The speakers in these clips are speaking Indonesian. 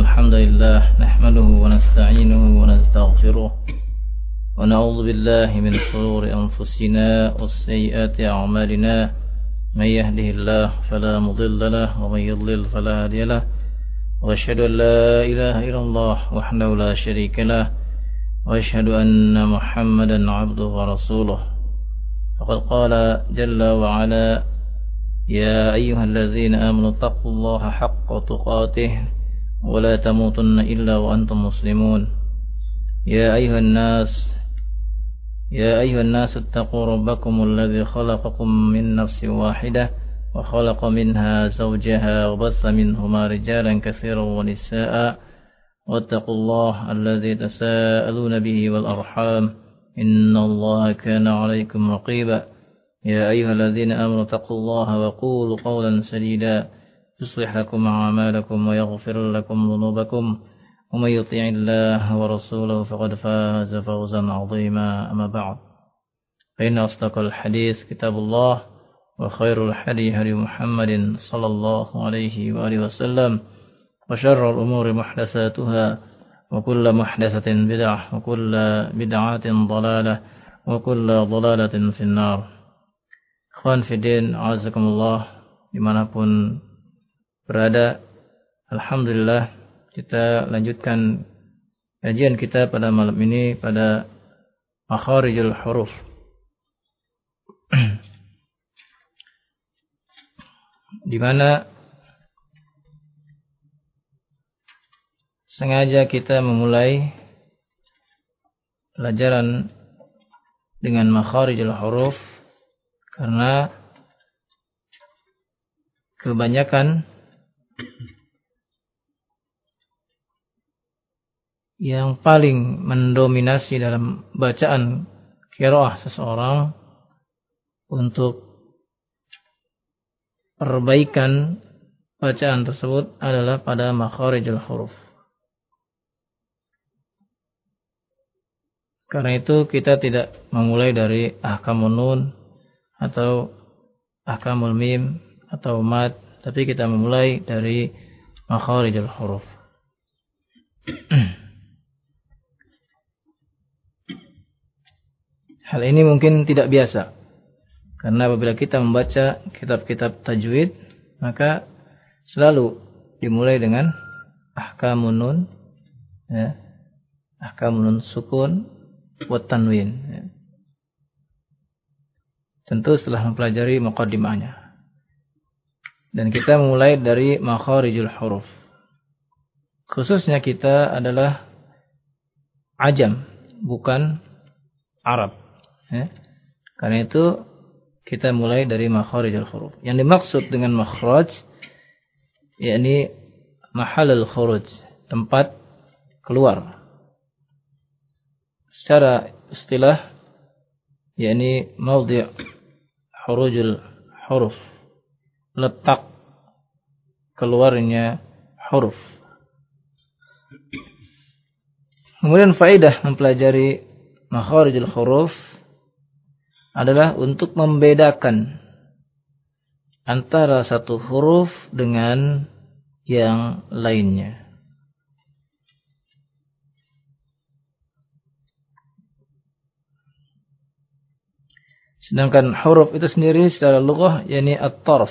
الحمد لله نحمده ونستعينه ونستغفره ونعوذ بالله من شرور أنفسنا وسيئات أعمالنا من يهده الله فلا مضل له ومن يضلل فلا هادي له وأشهد أن لا إله إلا الله وحده لا شريك له وأشهد أن محمدا عبده ورسوله فقد قال جل وعلا يا أيها الذين آمنوا اتقوا الله حق تقاته ولا تموتن إلا وأنتم مسلمون يا أيها الناس اتقوا ربكم الذي خلقكم من نفس واحدة وخلق منها زوجها وبث منهما رجالا كثيرا ونساء واتقوا الله الذي تساءلون به والأرحام إن الله كان عليكم رقيبا يا أيها الذين آمنوا اتقوا الله وقولوا قولا سديدا يصلح لكم أعمالكم ويغفر لكم ذنوبكم ومن يطع الله ورسوله فقد فاز فوزا عظيما أما بعد فإن أصدق الحديث كتاب الله وخير الهدي هدي محمد صلى الله عليه وآله وسلم وشر الأمور محدثاتها وكل محدثة بدعة وكل بدعة ضلالة وكل ضلالة في النار. Ikhwan Fiddin, azakumullah, dimanapun berada, alhamdulillah kita lanjutkan kajian kita pada malam ini pada makharijul huruf. Di mana sengaja kita memulai pelajaran dengan makharijul huruf karena kebanyakan yang paling mendominasi dalam bacaan qiraah seseorang untuk perbaikan bacaan tersebut adalah pada makharijul huruf. Karena itu kita tidak memulai dari ahkamun nun atau ahkamul mim atau mad, tapi kita memulai dari makharijul huruf. Hal ini mungkin tidak biasa, karena apabila kita membaca kitab-kitab tajwid, maka selalu dimulai dengan ahkamun nun, ya, ahkamun nun sukun wa tanwin, ya. Tentu setelah mempelajari muqaddimahnya. Dan kita memulai dari makharijul huruf. Khususnya kita adalah ajam, bukan Arab. Ya. Karena itu kita mulai dari makharijul huruf. Yang dimaksud dengan makhraj, yakni mahalul khuruj, tempat keluar. Secara istilah, yakni maudhi' hurujul huruf, letak keluarnya huruf. Kemudian faedah mempelajari makharijul huruf adalah untuk membedakan antara satu huruf dengan yang lainnya. Sedangkan huruf itu sendiri secara lughah yakni at-tarf.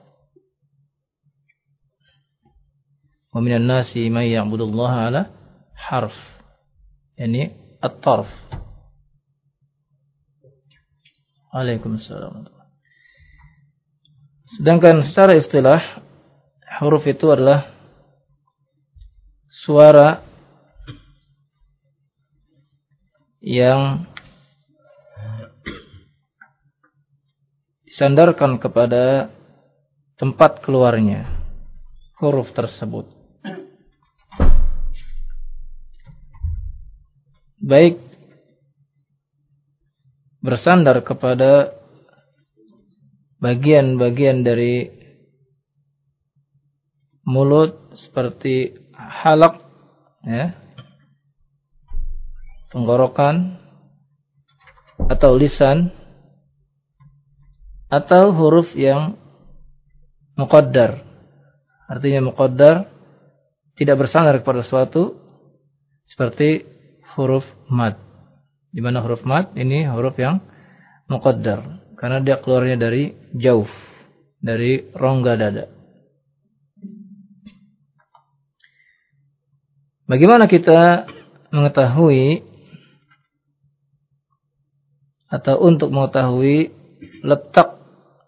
Wa minan nasi may ya'budullaha ala harf. Yani at-tarf. Waalaikumsalam. Sedangkan secara istilah huruf itu adalah suara yang disandarkan kepada tempat keluarnya huruf tersebut, baik bersandar kepada bagian-bagian dari mulut seperti halaq, ya, tenggorokan, atau lisan, atau huruf yang muqaddar. Artinya muqaddar tidak bersandar kepada sesuatu seperti huruf mad. Di mana huruf mad ini huruf yang muqaddar karena dia keluarnya dari jauf, dari rongga dada. Bagaimana kita mengetahui atau untuk mengetahui letak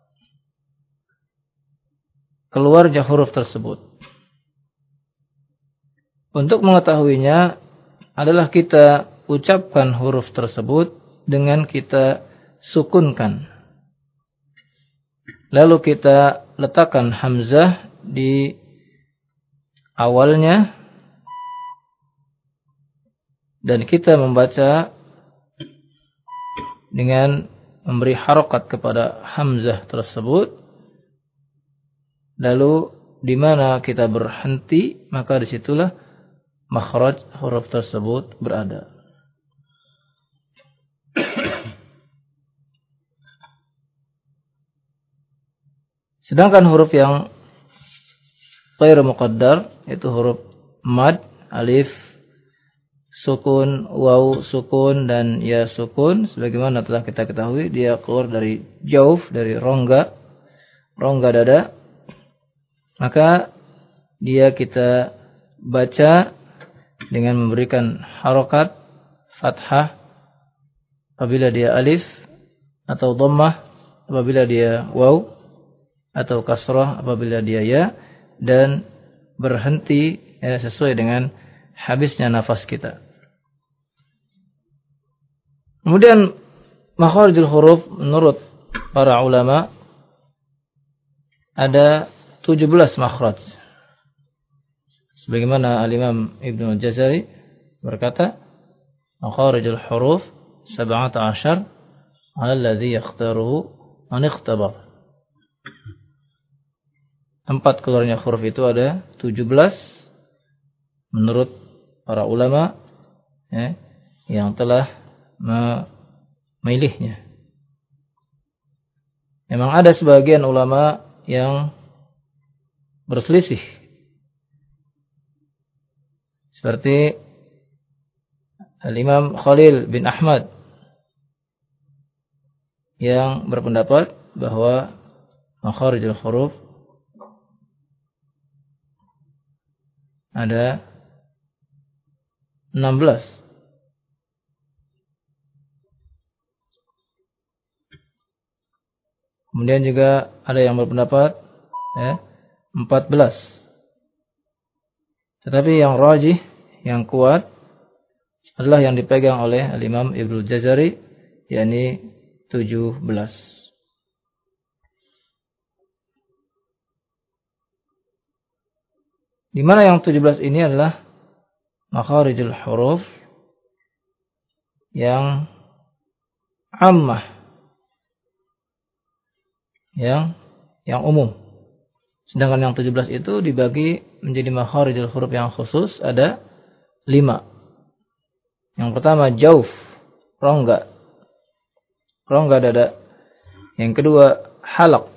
keluarnya huruf tersebut? Untuk mengetahuinya adalah kita ucapkan huruf tersebut dengan kita sukunkan. Lalu kita letakkan hamzah di awalnya dan kita membaca dengan memberi harokat kepada hamzah tersebut. Lalu di mana kita berhenti, maka disitulah makhraj huruf tersebut berada. Sedangkan huruf yang ghairu muqaddar, yaitu huruf mad, alif sukun, waw sukun, dan ya sukun, sebagaimana telah kita ketahui, dia keluar dari jauf, dari rongga dada. Maka dia kita baca dengan memberikan harokat fathah apabila dia alif, atau dhammah apabila dia waw, atau kasrah apabila dia ya, dan berhenti sesuai dengan habisnya nafas kita. Kemudian makharijul huruf menurut para ulama ada 17 makhraj. Sebagaimana Al-Imam Ibnu Al-Jazari berkata, makharijul huruf 17 ala alladhi yakhtaruhu man ikhtabar. Tempat keluarnya huruf itu ada 17 menurut para ulama yang telah memilihnya. Memang ada sebagian ulama yang berselisih, seperti Al-Imam Khalil bin Ahmad yang berpendapat bahwa makharijul huruf ada 16. Kemudian juga ada yang berpendapat 14. Tetapi yang rajih, yang kuat adalah yang dipegang oleh Al-Imam Ibnu Jazari, yakni 17. Di mana yang 17 ini adalah makharijul huruf yang ammah, yang umum. Sedangkan yang 17 itu dibagi menjadi makharijul huruf yang khusus ada 5. Yang pertama jauf, rongga dada. Yang kedua halaq,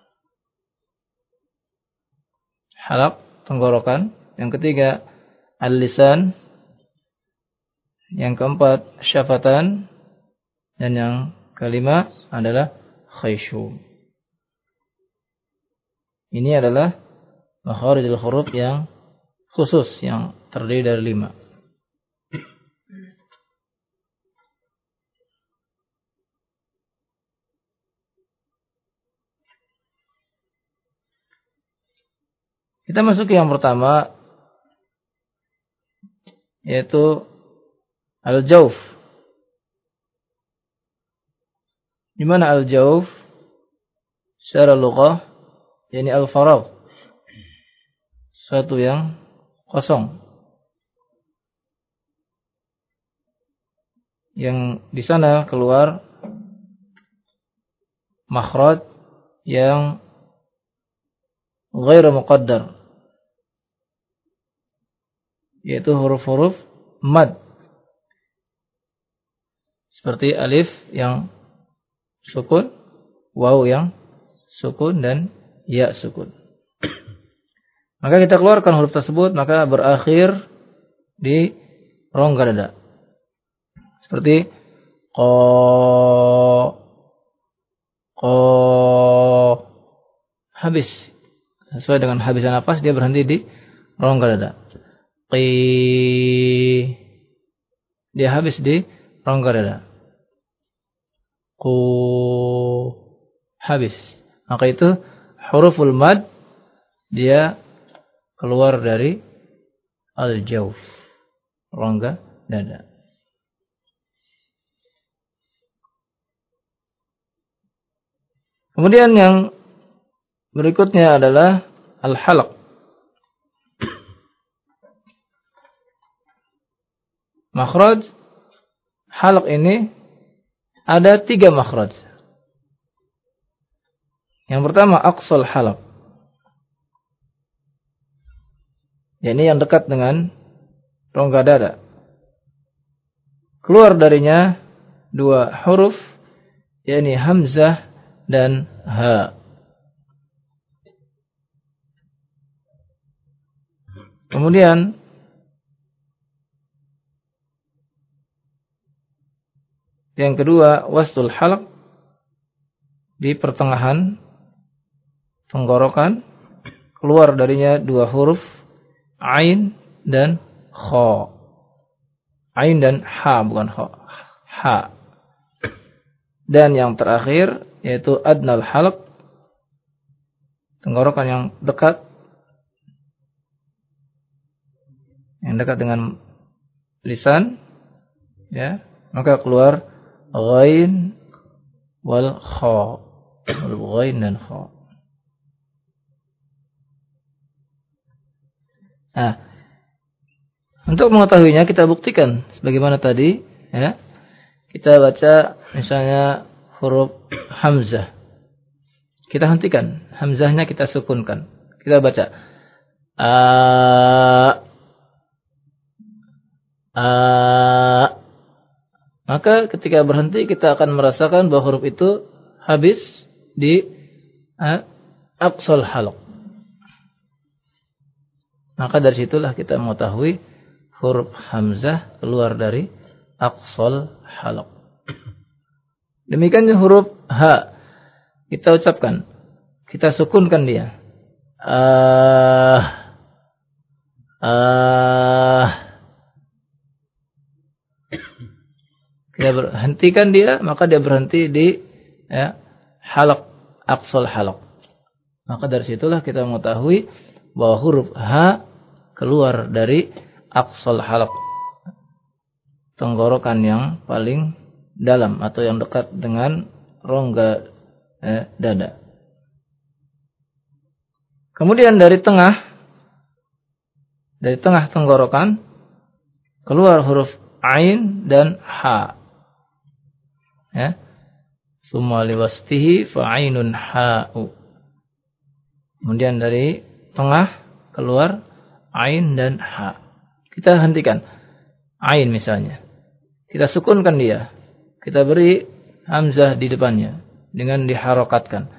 tenggorokan. Yang ketiga al-lisan. Yang keempat syafatan. Dan yang kelima adalah khayshum. Ini adalah makharijul huruf yang khusus, yang terdiri dari 5. Kita masuk ke yang pertama, yaitu al-jauf. Di mana al-jauf secara lughah yakni al-faragh, suatu yang kosong, yang di sana keluar makhraj yang ghairu muqaddar, yaitu huruf-huruf mad, seperti alif yang sukun, waw yang sukun, dan ya sukun. Maka kita keluarkan huruf tersebut, maka berakhir di rongga dada. Seperti habis. Sesuai dengan habisan nafas, dia berhenti di rongga dada. Dia habis di rongga dada. Habis. Maka itu huruful mad, dia keluar dari al-jawf, rongga dada. Kemudian yang berikutnya adalah al-halq. Makhraj halq ini ada 3 makhraj. Yang pertama aqsal halq. Ini yang dekat dengan rongga dada. Keluar darinya 2 huruf, yakni hamzah dan ha. Kemudian yang kedua wastul halq, di pertengahan tenggorokan, keluar darinya 2 huruf, ain dan kha. Ain dan ha, bukan kha. Ha. Dan yang terakhir yaitu adnal halq, tenggorokan yang dekat, dengan lisan, ya, maka keluar ghain wal kha. Ghain dan kha. Nah, untuk mengetahuinya kita buktikan sebagaimana tadi, ya. Kita baca misalnya huruf hamzah. Kita hentikan, hamzahnya kita sukunkan. Kita baca maka ketika berhenti kita akan merasakan bahwa huruf itu habis di aqsal halq. Maka dari situlah kita mengetahui huruf hamzah keluar dari aqsal halq. Demikian huruf ha, kita ucapkan, kita sukunkan dia. Kita berhentikan dia, maka dia berhenti di halq, aqsal halq. Maka dari situlah kita mengetahui bahwa huruf ha keluar dari aqsal halq, tenggorokan yang paling dalam atau yang dekat dengan rongga dada. Kemudian dari tengah tenggorokan keluar huruf ain dan ha. Ya. Summa liwastihi fa'ainun ha'u. Kemudian dari tengah keluar ain dan ha. Kita hentikan ain misalnya. Kita sukunkan dia. Kita beri hamzah di depannya dengan diharokatkan.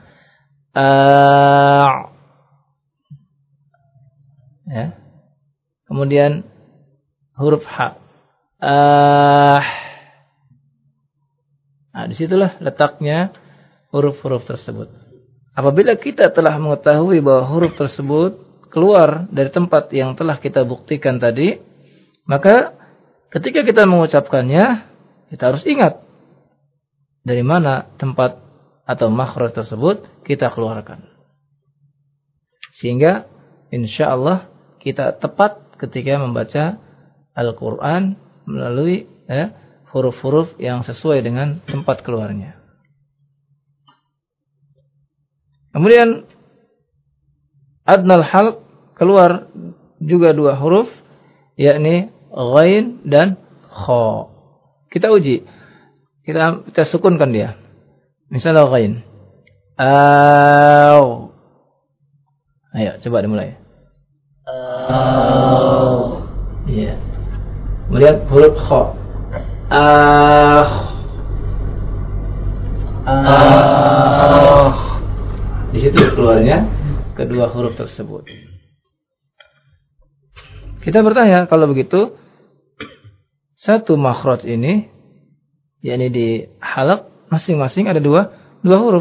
Ya. Kemudian huruf ha. Nah, disitulah letaknya huruf-huruf tersebut. Apabila kita telah mengetahui bahwa huruf tersebut keluar dari tempat yang telah kita buktikan tadi, maka ketika kita mengucapkannya, kita harus ingat dari mana tempat atau makhraj tersebut kita keluarkan. Sehingga insyaallah kita tepat ketika membaca Al-Quran melalui huruf-huruf yang sesuai dengan tempat keluarnya. Kemudian adnal halq keluar juga 2 huruf, yakni ghain dan kha. Kita uji. Kita sukunkan dia. Misalnya ghain. Ayo coba dimulai. Iya. Kemudian huruf kha. Di situ keluarnya kedua huruf tersebut. Kita bertanya, kalau begitu satu makhraj ini, yakni di halaq masing-masing ada dua huruf.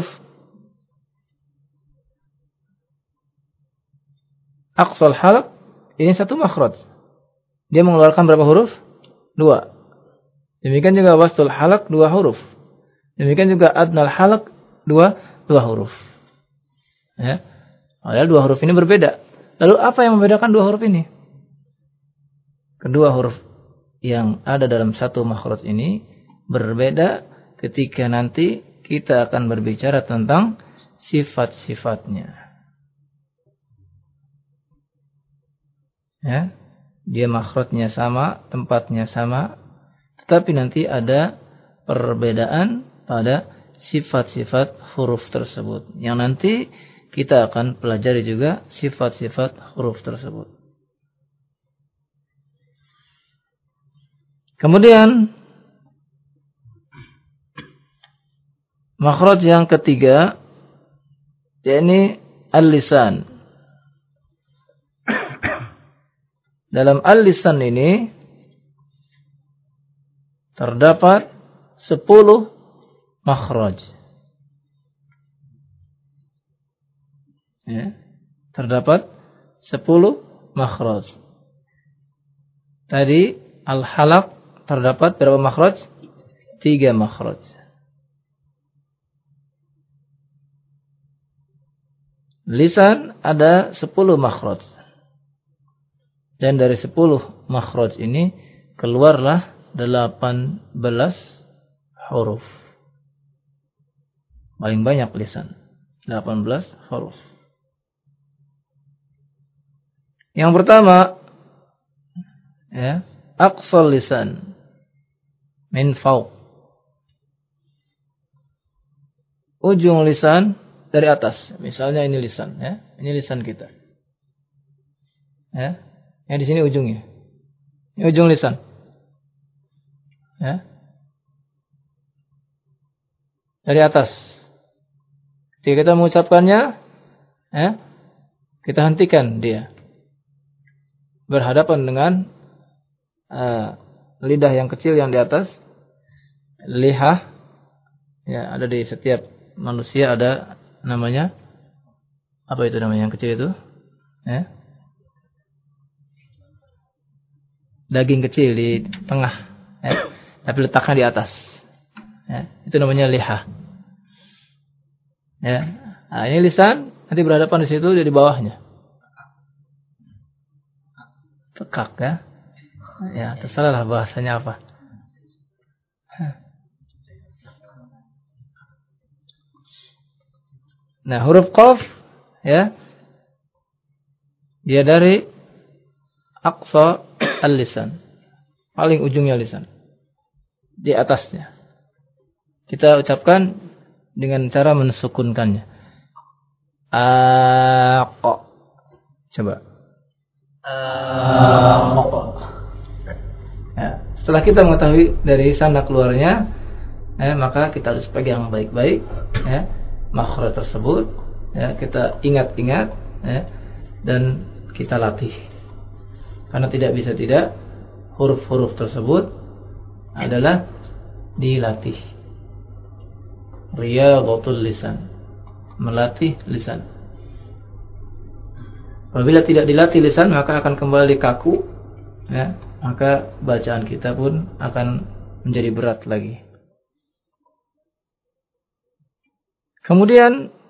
Aqsal halaq ini satu makhraj. Dia mengeluarkan berapa huruf? 2. Demikian juga wastul halaq 2 huruf. Demikian juga adnal halaq 2 huruf. Ya. Padahal 2 huruf ini berbeda. Lalu apa yang membedakan 2 huruf ini? Kedua huruf yang ada dalam satu makhraj ini berbeda ketika nanti kita akan berbicara tentang sifat-sifatnya. Ya, dia makhrajnya sama, tempatnya sama, tetapi nanti ada perbedaan pada sifat-sifat huruf tersebut. Yang nanti kita akan pelajari juga sifat-sifat huruf tersebut. Kemudian makhraj yang ketiga, yakni al-lisan. Dalam al-lisan ini terdapat 10 makhraj. Ya, terdapat 10 makhraj. Tadi al-halaq terdapat berapa makhraj? 3 makhraj. Lisan ada 10 makhraj. Dan dari 10 makhraj ini keluarlah 18 huruf. Paling banyak lisan, 18 huruf. Yang pertama, ya, aqsal lisan min fawq. Ujung lisan dari atas. Misalnya ini lisan, ya. Ini lisan kita. Ya. Yang di sini ujungnya. Ini ujung lisan. Ya. Dari atas. Ketika kita mengucapkannya, ya, kita hentikan dia. Berhadapan dengan lidah yang kecil yang di atas. Lihah. Ya, ada di setiap manusia ada namanya. Apa itu namanya yang kecil itu? Ya. Daging kecil di tengah, ya, tapi letakkan di atas. Ya, itu namanya lihah. Ya, nah, ini lisan, nanti berhadapan di situ, dia di bawahnya. Tekak, ya. Ya, terserah lah bahasanya apa. Nah, huruf qaf, ya, dia dari aqsa al-lisan, paling ujungnya lisan, di atasnya. Kita ucapkan dengan cara mensukunkannya. Aqa. Coba. Aqa. Ya, setelah kita mengetahui dari sana keluarnya, maka kita harus pegang baik-baik, ya, makhraj tersebut, ya, kita ingat-ingat, ya, dan kita latih. Karena tidak bisa tidak, huruf-huruf tersebut adalah dilatih. Riyadhatul lisan, melatih lisan. Apabila tidak dilatih lisan, maka akan kembali kaku, ya, maka bacaan kita pun akan menjadi berat lagi. Kemudian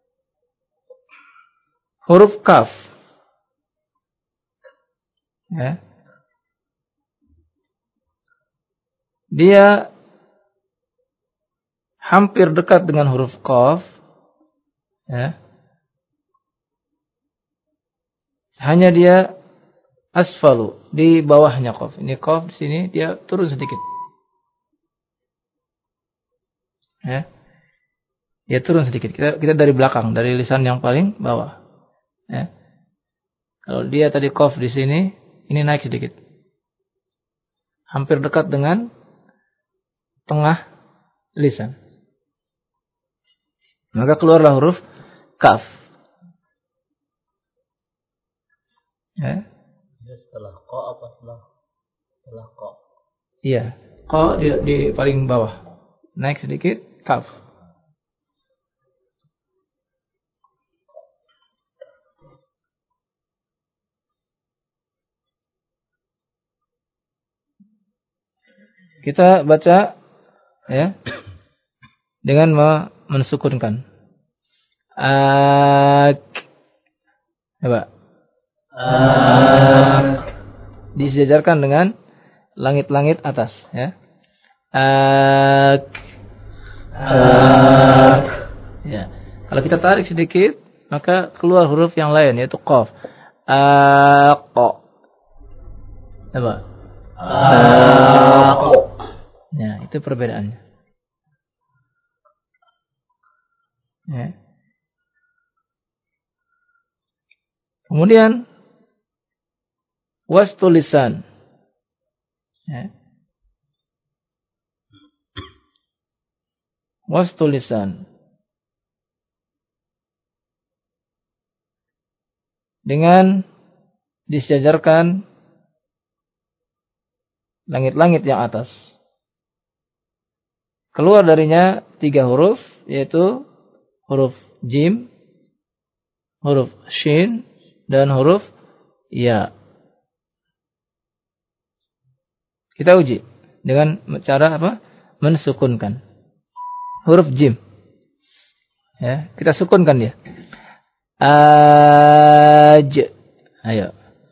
huruf kaf, ya, dia hampir dekat dengan huruf qaf, ya. Hanya dia asfalu, di bawahnya qaf. Ini qaf di sini dia turun sedikit. Ya. Dia turun sedikit. Kita dari belakang, dari lisan yang paling bawah. Ya. Kalau dia tadi qaf di sini, ini naik sedikit. Hampir dekat dengan tengah lisan. Maka keluarlah huruf kaf. Ya. setelah ko apa setelah ko? Iya, ko di paling bawah. Naik sedikit, kaf. Kita baca ya dengan mensukunkan. Coba. Disejajarkan dengan langit-langit atas ya. Ya. Kalau kita tarik sedikit, maka keluar huruf yang lain yaitu qaf. Qa. Coba. Ya, itu perbedaannya. Ya. Kemudian wastul lisan. Ya. Wastul lisan. Dengan disejajarkan langit-langit yang atas. Keluar darinya 3 huruf, yaitu huruf jim, huruf shin, dan huruf ya. Kita uji dengan cara apa? Mensukunkan. Huruf jim. Ya, kita sukunkan dia. Aj. Ayo.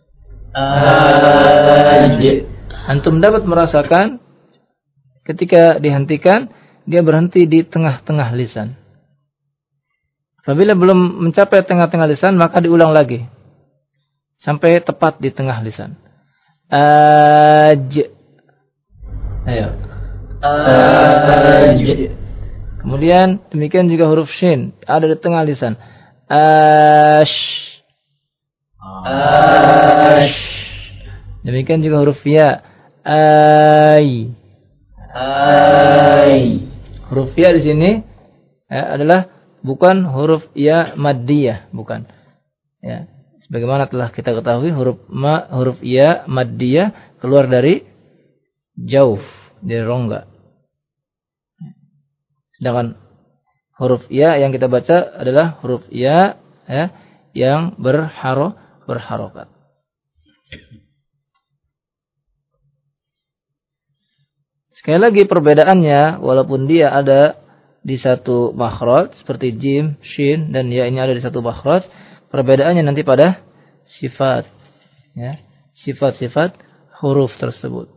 Aj. Antum dapat merasakan ketika dihentikan, dia berhenti di tengah-tengah lisan. Apabila belum mencapai tengah-tengah lisan, maka diulang lagi. Sampai tepat di tengah lisan. Aj. Ayo. Aj. Kemudian, demikian juga huruf shin. Ada di tengah lisan. Ash. Ash. Demikian juga huruf ya. Ay. Ay. Huruf ya di sini adalah bukan huruf ya maddiyah, bukan. Ya, sebagaimana telah kita ketahui huruf ya maddiyah keluar dari jauf, dari rongga. Sedangkan huruf ya yang kita baca adalah huruf ya yang berharokat. Sekali lagi perbedaannya, walaupun dia ada di satu makhraj seperti jim, shin, dan ya ini ada di satu makhraj, perbedaannya nanti pada sifat, ya, sifat-sifat huruf tersebut.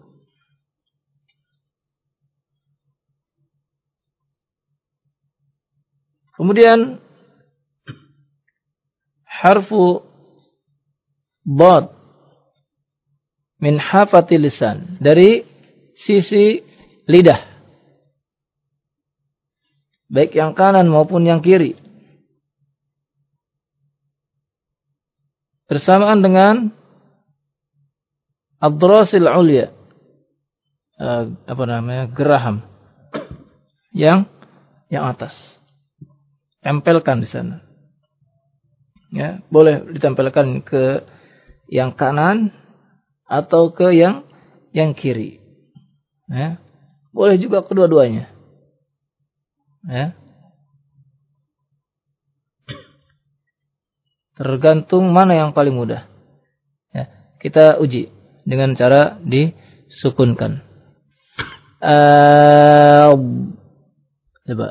Kemudian harfu dad min hafatil lisan, dari sisi lidah, baik yang kanan maupun yang kiri, bersamaan dengan ad-darasil ulya, geraham yang atas, tempelkan di sana. Ya, boleh ditempelkan ke yang kanan atau ke yang kiri. Ya, boleh juga kedua-duanya. Ya. Tergantung mana yang paling mudah. Ya, kita uji dengan cara disukunkan. Coba.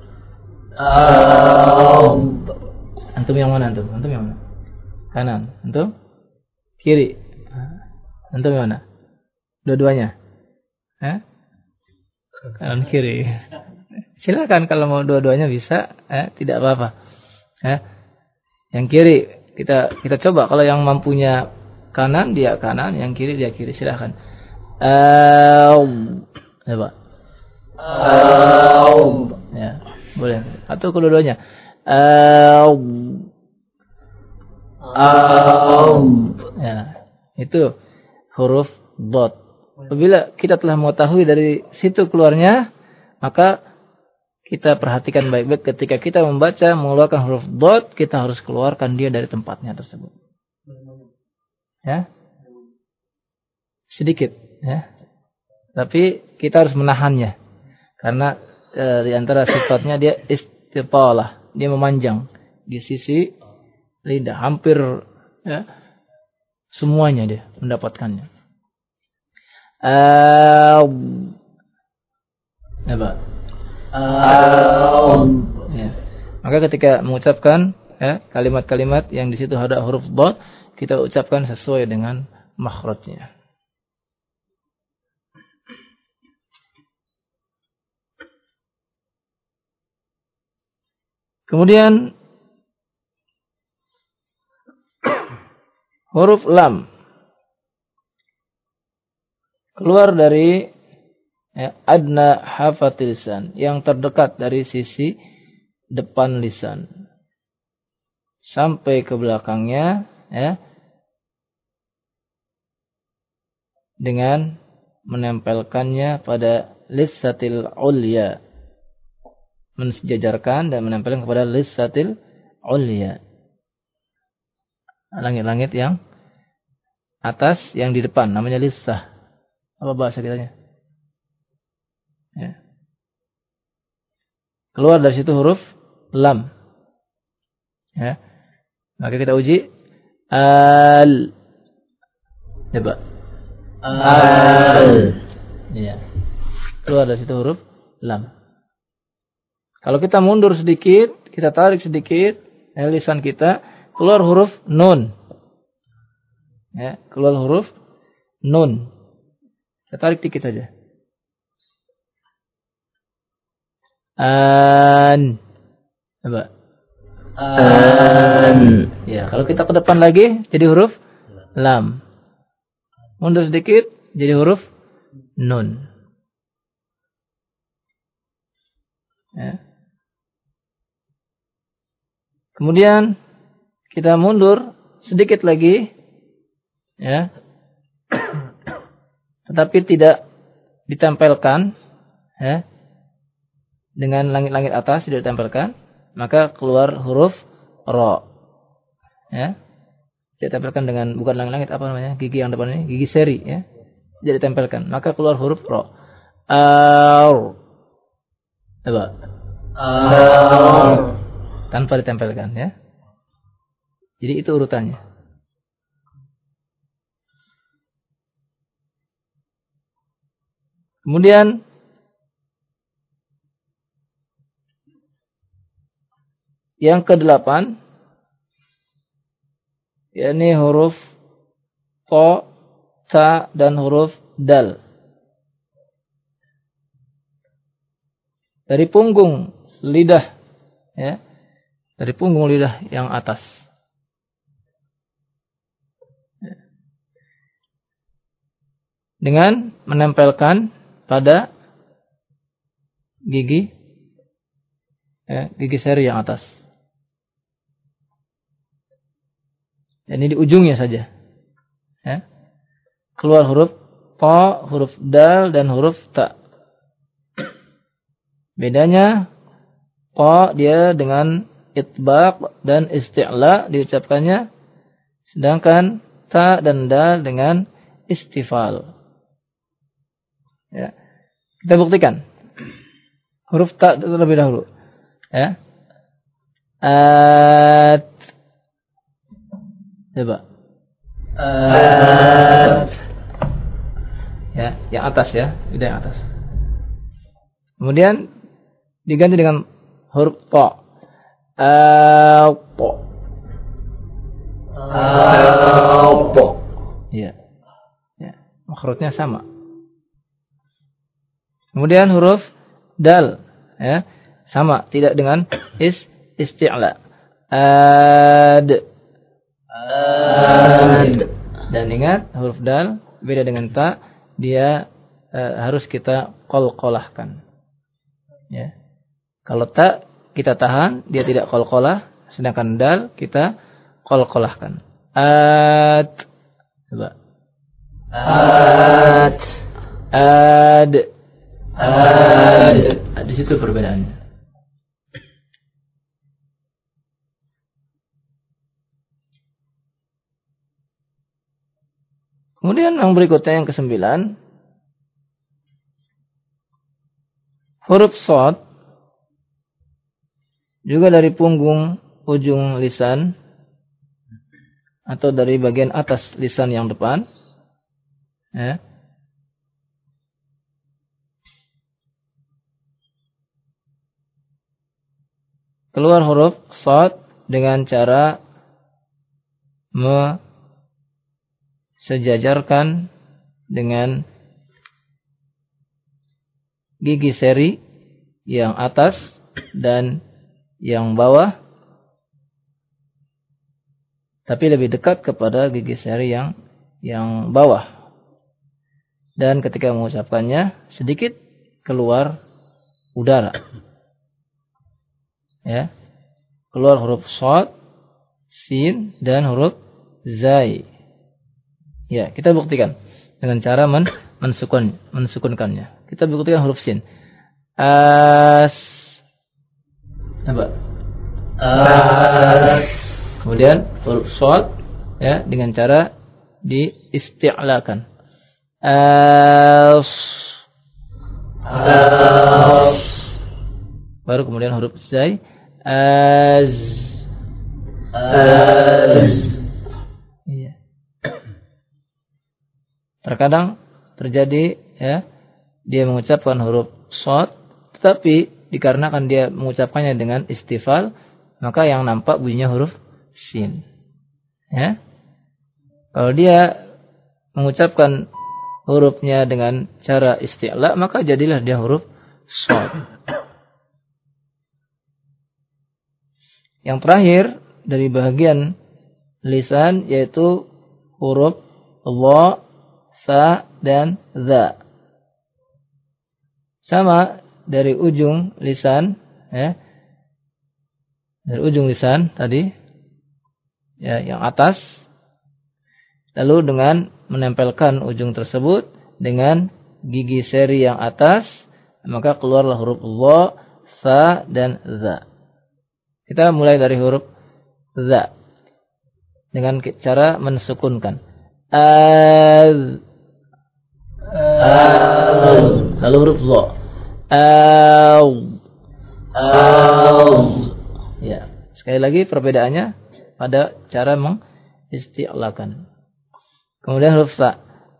Antum yang mana antum? Antum yang mana? Kanan. Antum? Kiri. Antum yang mana? Dua-duanya. Kanan kiri. Silakan kalau mau dua-duanya bisa, tidak apa-apa. Yang kiri kita coba, kalau yang mampunya kanan dia kanan, yang kiri dia kiri, silakan. Coba. Ya, boleh. Atau kedua-duanya. Ya, itu huruf dot. Apabila kita telah mengetahui dari situ keluarnya, maka kita perhatikan baik-baik ketika kita membaca mengeluarkan huruf dot, kita harus keluarkan dia dari tempatnya tersebut. Ya, sedikit, ya. Tapi kita harus menahannya. Karena di antara sifatnya dia istitalah, dia memanjang di sisi lidah, hampir ya, semuanya dia mendapatkannya. Apa? Ya. Maka ketika mengucapkan ya, kalimat-kalimat yang di situ ada huruf dad, kita ucapkan sesuai dengan makhrajnya. Kemudian huruf lam keluar dari adna hafatil lisan, yang terdekat dari sisi depan lisan sampai ke belakangnya ya, dengan menempelkannya pada lissatil ulya, mensejajarkan dan menempelkan kepada lissatil ulya, langit-langit yang atas yang di depan, namanya lissah. Apa bahasa kitanya? Ya. Keluar dari situ huruf lam. Ya. Maka kita uji al. Coba. Al. Ya. Keluar dari situ huruf lam. Kalau kita mundur sedikit, kita tarik sedikit lisan kita, keluar huruf nun. Ya, keluar huruf nun. Kita tarik dikit saja. An. Coba. An. Ya, kalau kita ke depan lagi jadi huruf lam. Mundur sedikit jadi huruf nun. Ya. Kemudian kita mundur sedikit lagi, ya, tetapi tidak ditempelkan, ya, dengan langit-langit atas tidak ditempelkan, maka keluar huruf ro, ya, ditempelkan dengan bukan langit-langit apa namanya, gigi yang depan ini, gigi seri, ya, tidak ditempelkan, maka keluar huruf ro. Coba. Tanpa ditempelkan, ya. Jadi itu urutannya. Kemudian yang ke-8, yakni huruf to, ta dan huruf dal. Dari punggung lidah, ya, dari punggung lidah yang atas. Dengan menempelkan pada gigi, ya, gigi seri yang atas. Ini di ujungnya saja. Ya. Keluar huruf to, huruf dal dan huruf ta. Bedanya to dia dengan itbaq dan isti'la diucapkannya, sedangkan ta dan dal dengan istifal. Ya. Kita buktikan. Huruf ta terlebih dahulu. Ya. At. Coba. At. Ya, yang atas ya, lidah yang atas. Kemudian diganti dengan huruf to. To. To. Ya. Ya, makhrajnya sama. Kemudian huruf dal, ya, sama, tidak dengan isti'la. Ad. Ad. Dan ingat huruf dal beda dengan ta, dia harus kita qalqalahkan. Ya. Kalau ta kita tahan, dia tidak qalqalah, sedangkan dal kita qalqalahkan. Ad. Coba. Ad. Ad. Di situ perbedaannya. Kemudian yang berikutnya yang ke-9, huruf shad juga dari punggung ujung lisan atau dari bagian atas lisan yang depan, ya. Keluar huruf shad dengan cara sejajarkan dengan gigi seri yang atas dan yang bawah, tapi lebih dekat kepada gigi seri yang bawah. Dan ketika mengucapkannya sedikit keluar udara. Ya. Keluar huruf shad, sin dan huruf zai. Ya, kita buktikan dengan cara mensukunkannya. Kita buktikan huruf sin. Coba. Kemudian huruf shad, ya, dengan cara diisti'lakan. Baru kemudian huruf zai. Iya. Terkadang terjadi, ya, dia mengucapkan huruf shad, tetapi dikarenakan dia mengucapkannya dengan istifal, maka yang nampak bunyinya huruf sin. Ya. Kalau dia mengucapkan hurufnya dengan cara isti'la, maka jadilah dia huruf shad. Yang terakhir dari bagian lisan yaitu huruf dha, sa dan za. Sama dari ujung lisan, ya. Dari ujung lisan tadi, ya, yang atas, lalu dengan menempelkan ujung tersebut dengan gigi seri yang atas, maka keluarlah huruf dha, sa dan za. Kita mulai dari huruf za dengan cara mensukunkan. Lalu huruf dha. Ya, sekali lagi perbedaannya pada cara mengisti'lakan. Kemudian huruf sa.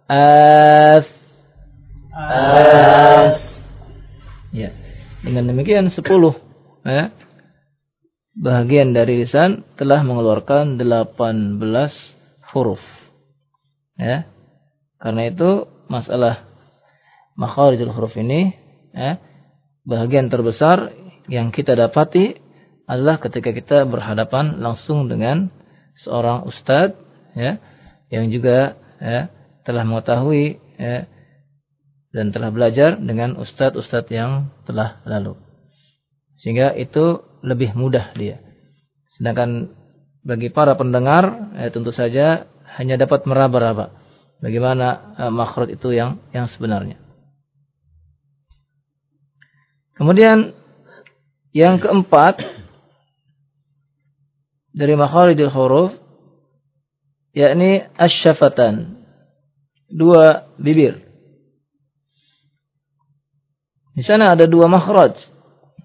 Ya, dengan demikian 10, ya, bahagian dari lisan telah mengeluarkan 18 huruf. Ya. Karena itu masalah makharijul huruf ini, ya, bahagian terbesar yang kita dapati adalah ketika kita berhadapan langsung dengan seorang ustadz, ya, yang juga, ya, telah mengetahui, ya, dan telah belajar dengan ustadz-ustadz yang telah lalu. Sehingga itu lebih mudah dia. Sedangkan bagi para pendengar, tentu saja hanya dapat meraba-raba bagaimana makhraj itu yang sebenarnya. Kemudian yang keempat dari makharijul huruf, yakni asy-syafatan, dua bibir. Di sana ada dua makhraj.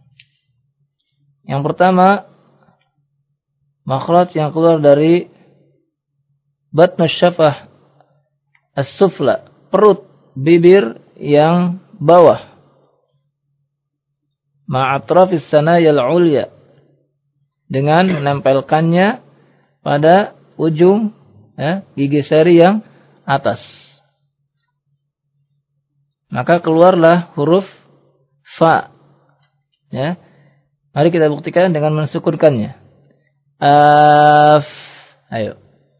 Yang pertama, makhraj yang keluar dari batnus syafah as-sufla, perut bibir yang bawah, ma'atrafis sanayal ulya, dengan menempelkannya pada ujung, ya, gigi seri yang atas. Maka keluarlah huruf fa. Ya. Mari kita buktikan dengan mensukunkannya. Ayo.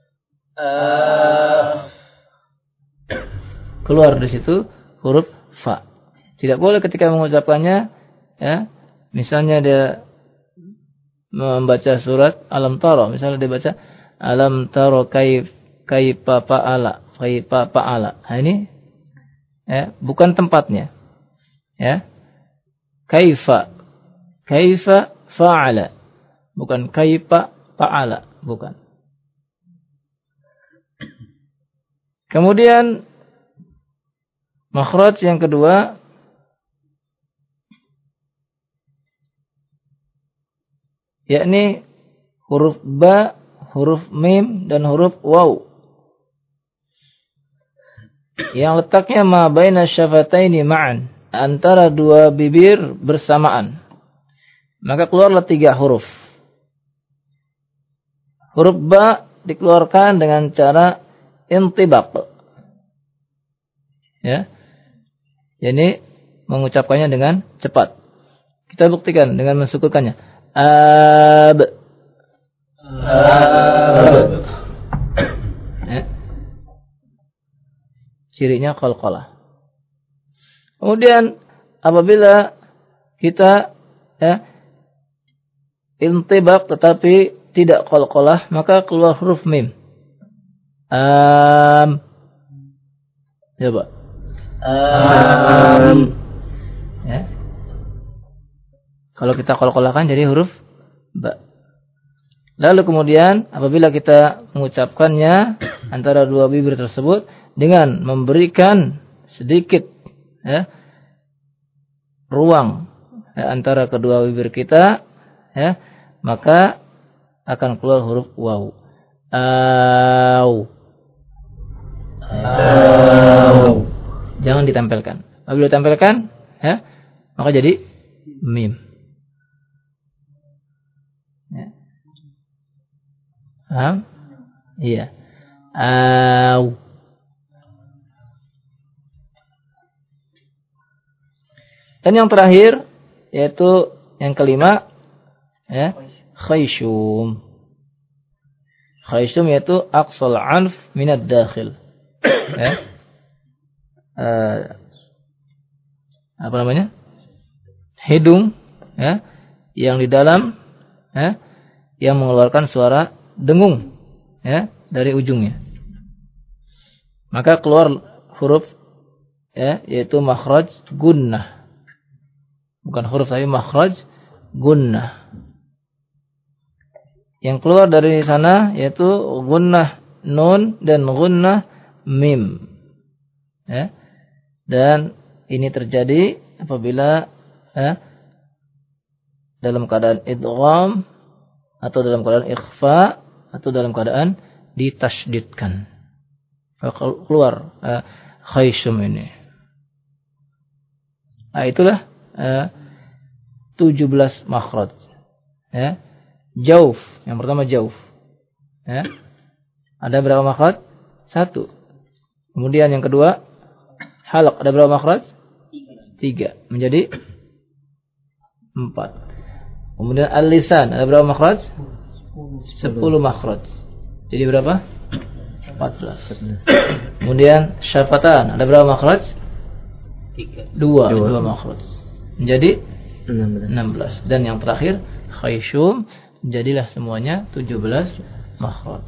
Keluar dari situ huruf fa. Tidak boleh ketika mengucapkannya, ya, misalnya dia membaca surat Alam Tara, misalnya dia baca Alam Tara kaifa fa'ala. Nah, ini, ya, bukan tempatnya. Ya. Kaifa fa'ala, bukan kaifa fa'ala, bukan. Kemudian makhraj yang kedua yakni huruf ba, huruf mim dan huruf waw. Yang letaknya ma baina syafataini ma'an, antara dua bibir bersamaan. Maka keluarlah 3 huruf. Huruf ba dikeluarkan dengan cara intibaq. Ya. Yani mengucapkannya dengan cepat. Kita buktikan dengan mensukunkannya. Ab. Ya. Cirinya qalqalah. Kemudian apabila kita intibaq tetapi tidak qalqalah, maka keluar huruf mim. Coba. Ya. Kalau kita qalqalahkan jadi huruf ba. Lalu kemudian apabila kita mengucapkannya antara dua bibir tersebut dengan memberikan sedikit ruang antara kedua bibir kita, maka akan keluar huruf waw. Jangan ditempelkan. Apabila ditempelkan, maka jadi mim. Paham? Iya. Dan yang terakhir yaitu yang kelima, khayshum. Khayshum yaitu aqsal anf minad dakhil. Apa namanya? Hidung, yang di dalam, yang mengeluarkan suara dengung, dari ujungnya. Maka keluar huruf, yaitu makhraj gunnah. Bukan huruf tapi makhraj gunnah. Yang keluar dari sana yaitu gunnah nun dan gunnah mim. Dan ini terjadi apabila dalam keadaan idgham atau dalam keadaan ikhfa atau dalam keadaan ditasydidkan. Keluar khayshum ini. Itulah 17 makhraj. Jauf, yang pertama jauf. Ada berapa makhraj? 1. Kemudian yang kedua halaq, ada berapa makhraj? 3. Menjadi 4. Kemudian al-lisan, ada berapa makhraj? 10 makhraj. Jadi berapa? 14. Kemudian syafatan, ada berapa makhraj? 2 makhraj. Menjadi 16. Dan yang terakhir khayshum, jadilah semuanya 17 makhraj.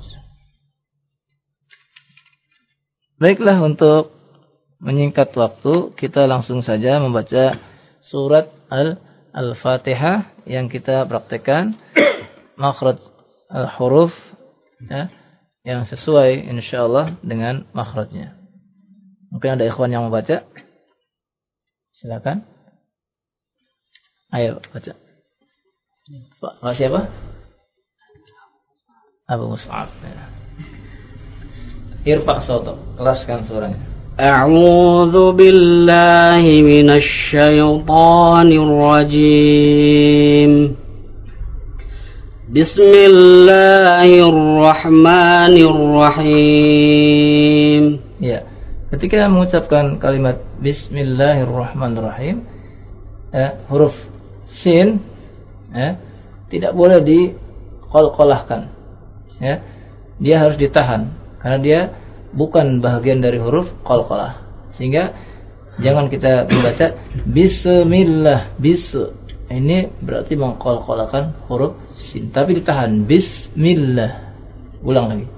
Baiklah, untuk menyingkat waktu, kita langsung saja membaca surat Al-Fatihah yang kita praktekkan makhraj al-huruf, yang sesuai insyaallah dengan makhrajnya. Mungkin ada ikhwan yang membaca. Silakan. Ayo baca. Pak siapa? Abu Mus'ab. Irfa' sautak, keraskan suaranya. A'udzu billahi minasy syaithanir rajim. Bismillahirrahmanirrahim. Ya, ketika mengucapkan kalimat Bismillahirrahmanirrahim, huruf sin, tidak boleh diqalqalahkan. Dia harus ditahan karena dia bukan bahagian dari huruf qalqalah. Sehingga jangan kita membaca Bismillah, ini berarti mengqalqalahkan huruf sin, tapi ditahan Bismillah. Ulang lagi.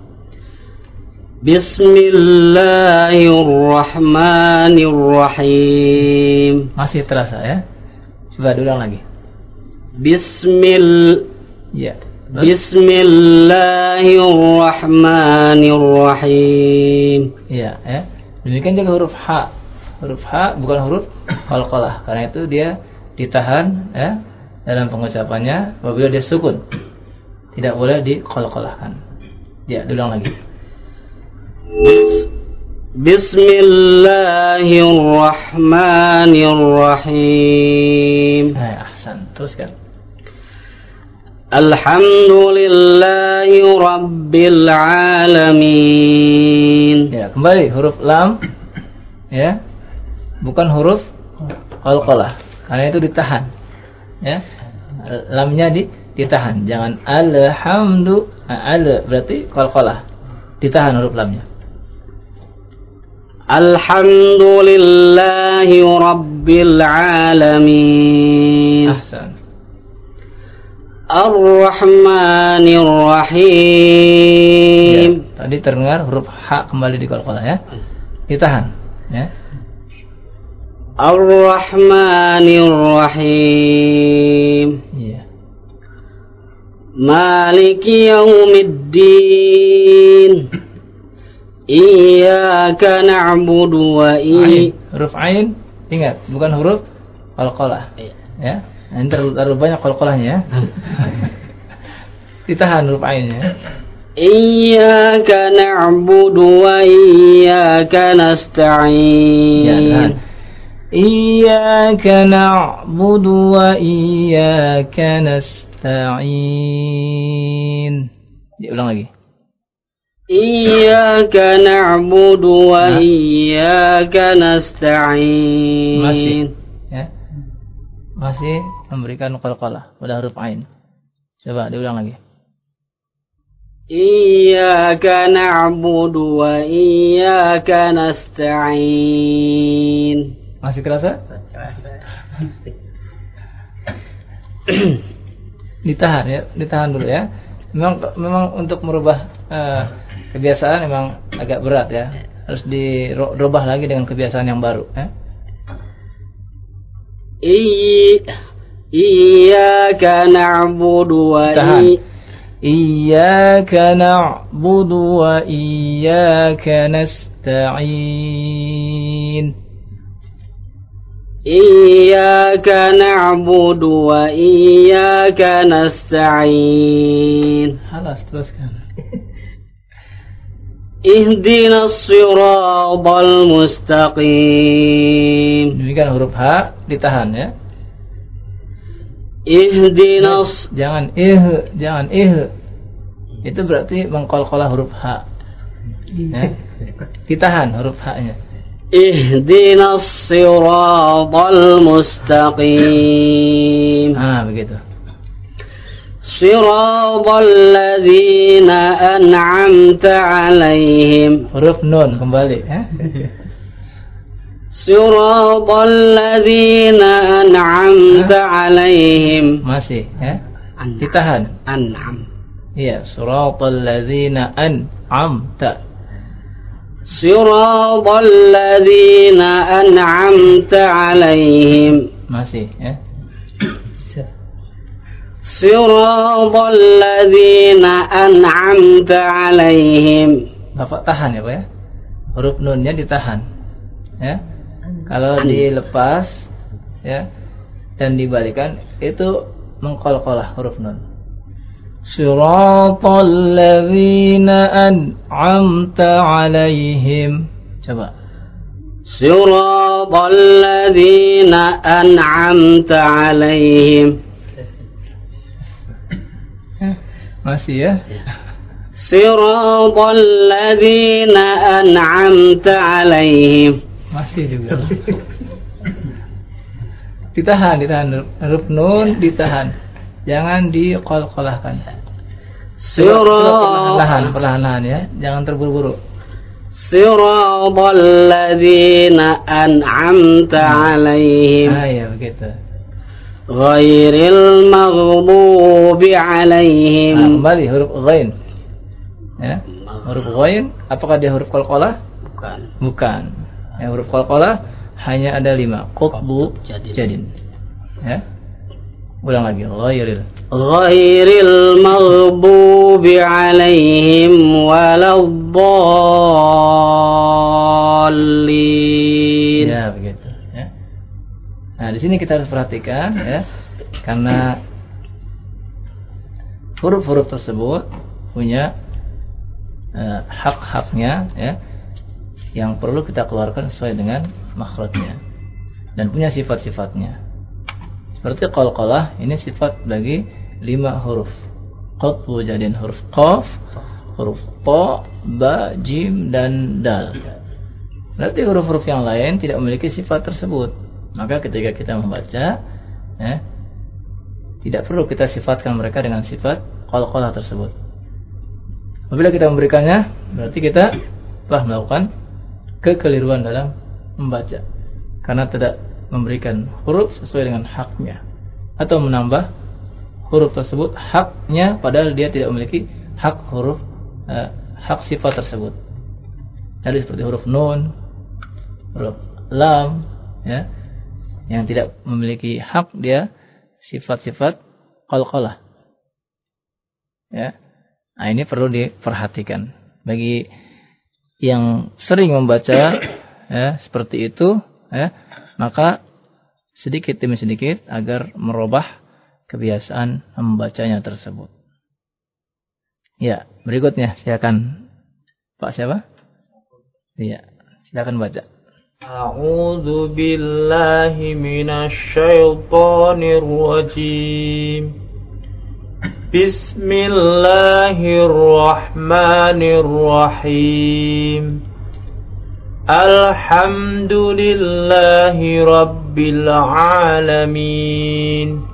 Bismillahirrahmanirrahim. Masih terasa ya? Coba diulang lagi. Bismillah. Ya, Bismillahirrahmanirrahim. Ya, demikian juga huruf H. Huruf H bukan huruf qalqalah. Karena itu dia ditahan dalam pengucapannya apabila dia sukun. Tidak boleh diqalqalahkan. Ya, diulang lagi. Bismillahirrahmanirrahim. Ahsan. Teruskan. Alhamdulillahi Rabbil Alamin. Ya, kembali huruf lam. Ya. Bukan huruf qalqalah. Karena itu ditahan. Ya. Lamnya ditahan. Jangan alhamdu. Berarti qalqalah. Ditahan huruf lamnya. Alhamdulillahi Rabbil Alamin. Ahsan. Ar-Rahmanir-Rahim. Ya, tadi terdengar huruf H kembali di qalqalah ya. Ditahan ya. Ar-Rahmanir-Rahim. Iya. Maliki yaumiddin. Iyyaka na'budu wa huruf ain, ingat, bukan huruf qalqalah. Ya. Ini terlalu banyak qalqalahnya ya. Ditahan huruf ainnya. Iyyaka na'budu wa iyyaka nasta'in. Ya, tahan. Iyyaka na'budu wa iyyaka nasta'in. Ulang lagi. Iyyaka na'budu wa iyyaka nasta'in. Masih ya. Masih memberikan qalqalah pada huruf ain. Coba diulang lagi. Iyyaka na'budu wa iyyaka nasta'in. Masih kerasa? Ditahan ya, ditahan dulu ya. Memang untuk merubah kebiasaan memang agak berat ya. Harus dirubah lagi dengan kebiasaan yang baru ya. Iyyaka na'budu wa Iyyaka na'budu wa iyyaka nasta'in. Iyyaka na'budu wa iyyaka nasta'in. Halas, teruskan. Ihdinas siratal mustaqim. Demikian huruf H ditahan ya. Ihdinas, jangan itu berarti mengqalqalah huruf H ya. Ditahan huruf H-nya. Ihdinas siratal mustaqim. Begitu. Siratal ladzina an'amta 'alaihim. Huruf nun kembali ya. Siratal ladzina an'amta 'alaihim. Masih ya. Ditahan. An'am. Iya, siratal ladzina an'amta. Siratal ladzina an'amta 'alaihim. Masih ya. Siratal ladzina an'amta 'alaihim. Bapak tahan ya Pak ya. Huruf nunnya ditahan. Ya. Kalau dilepas ya dan dibalikan itu mengqalqalah huruf nun. Siratal ladzina an'amta 'alaihim. Coba. Siratal ladzina an'amta 'alaihim. Masih ya. Siratal ladzina an'amta 'alaihim. Masih juga. Ditahan huruf nun ditahan. Jangan diqalqalahkan. Perlahan-lahan ya, jangan terburu-buru. Siratal ladzina an'amta 'alaihim. Ya begitu. Ghairil maghdubi 'alaihim. Kembali huruf ghain. Ya. Huruf ghain apakah dia huruf qalqalah? Bukan. Ya, huruf qalqalah hanya ada 5. Qutbu jadin. Ya. Ulang lagi. Ghairil. ghairil maghdubi alaihim waladdallin. Ya, begitu ya. Nah, di sini kita harus perhatikan ya, karena huruf-huruf tersebut punya hak-haknya ya, yang perlu kita keluarkan sesuai dengan makhrajnya dan punya sifat-sifatnya. Seperti qalqalah, ini sifat bagi 5 huruf. Qatbu jadiin huruf qaf, huruf ta, ba, jim dan dal. Berarti huruf-huruf yang lain tidak memiliki sifat tersebut. Maka ketika kita membaca ya, tidak perlu kita sifatkan mereka dengan sifat qalqalah tersebut. Apabila kita memberikannya, berarti kita telah melakukan kekeliruan dalam membaca, karena tidak memberikan huruf sesuai dengan haknya, atau menambah huruf tersebut haknya padahal dia tidak memiliki hak huruf, hak sifat tersebut. Jadi seperti huruf nun, huruf lam ya, yang tidak memiliki hak dia sifat-sifat qalqalah ya. Nah, ini perlu diperhatikan bagi yang sering membaca ya, seperti itu ya, maka sedikit demi sedikit agar merubah kebiasaan membacanya tersebut. Ya, berikutnya silakan Pak siapa? Iya, silakan baca. A'udzu billahi minasy syaithanir rajim. Bismillahirrahmanirrahim. Alhamdulillahi rabbil alamin.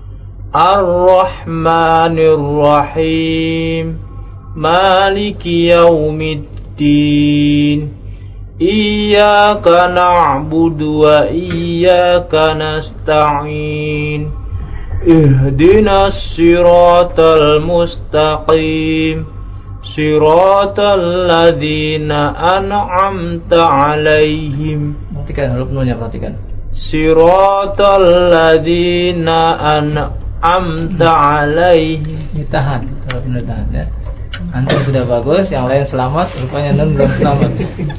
Ar-Rahmanir-Rahim. Maliki yaumiddin. Iyyaka na'budu wa iyyaka nasta'in. Ihdinas siratal mustaqim. Siratal ladzina an'amta 'alaihim. Perhatikan huruf nunnya, perhatikan. Siratal ladzina an'amta 'alaihim. Ditahan, huruf nun ditahan ya. Antum sudah bagus, yang lain selamat, rupanya nun belum selamat.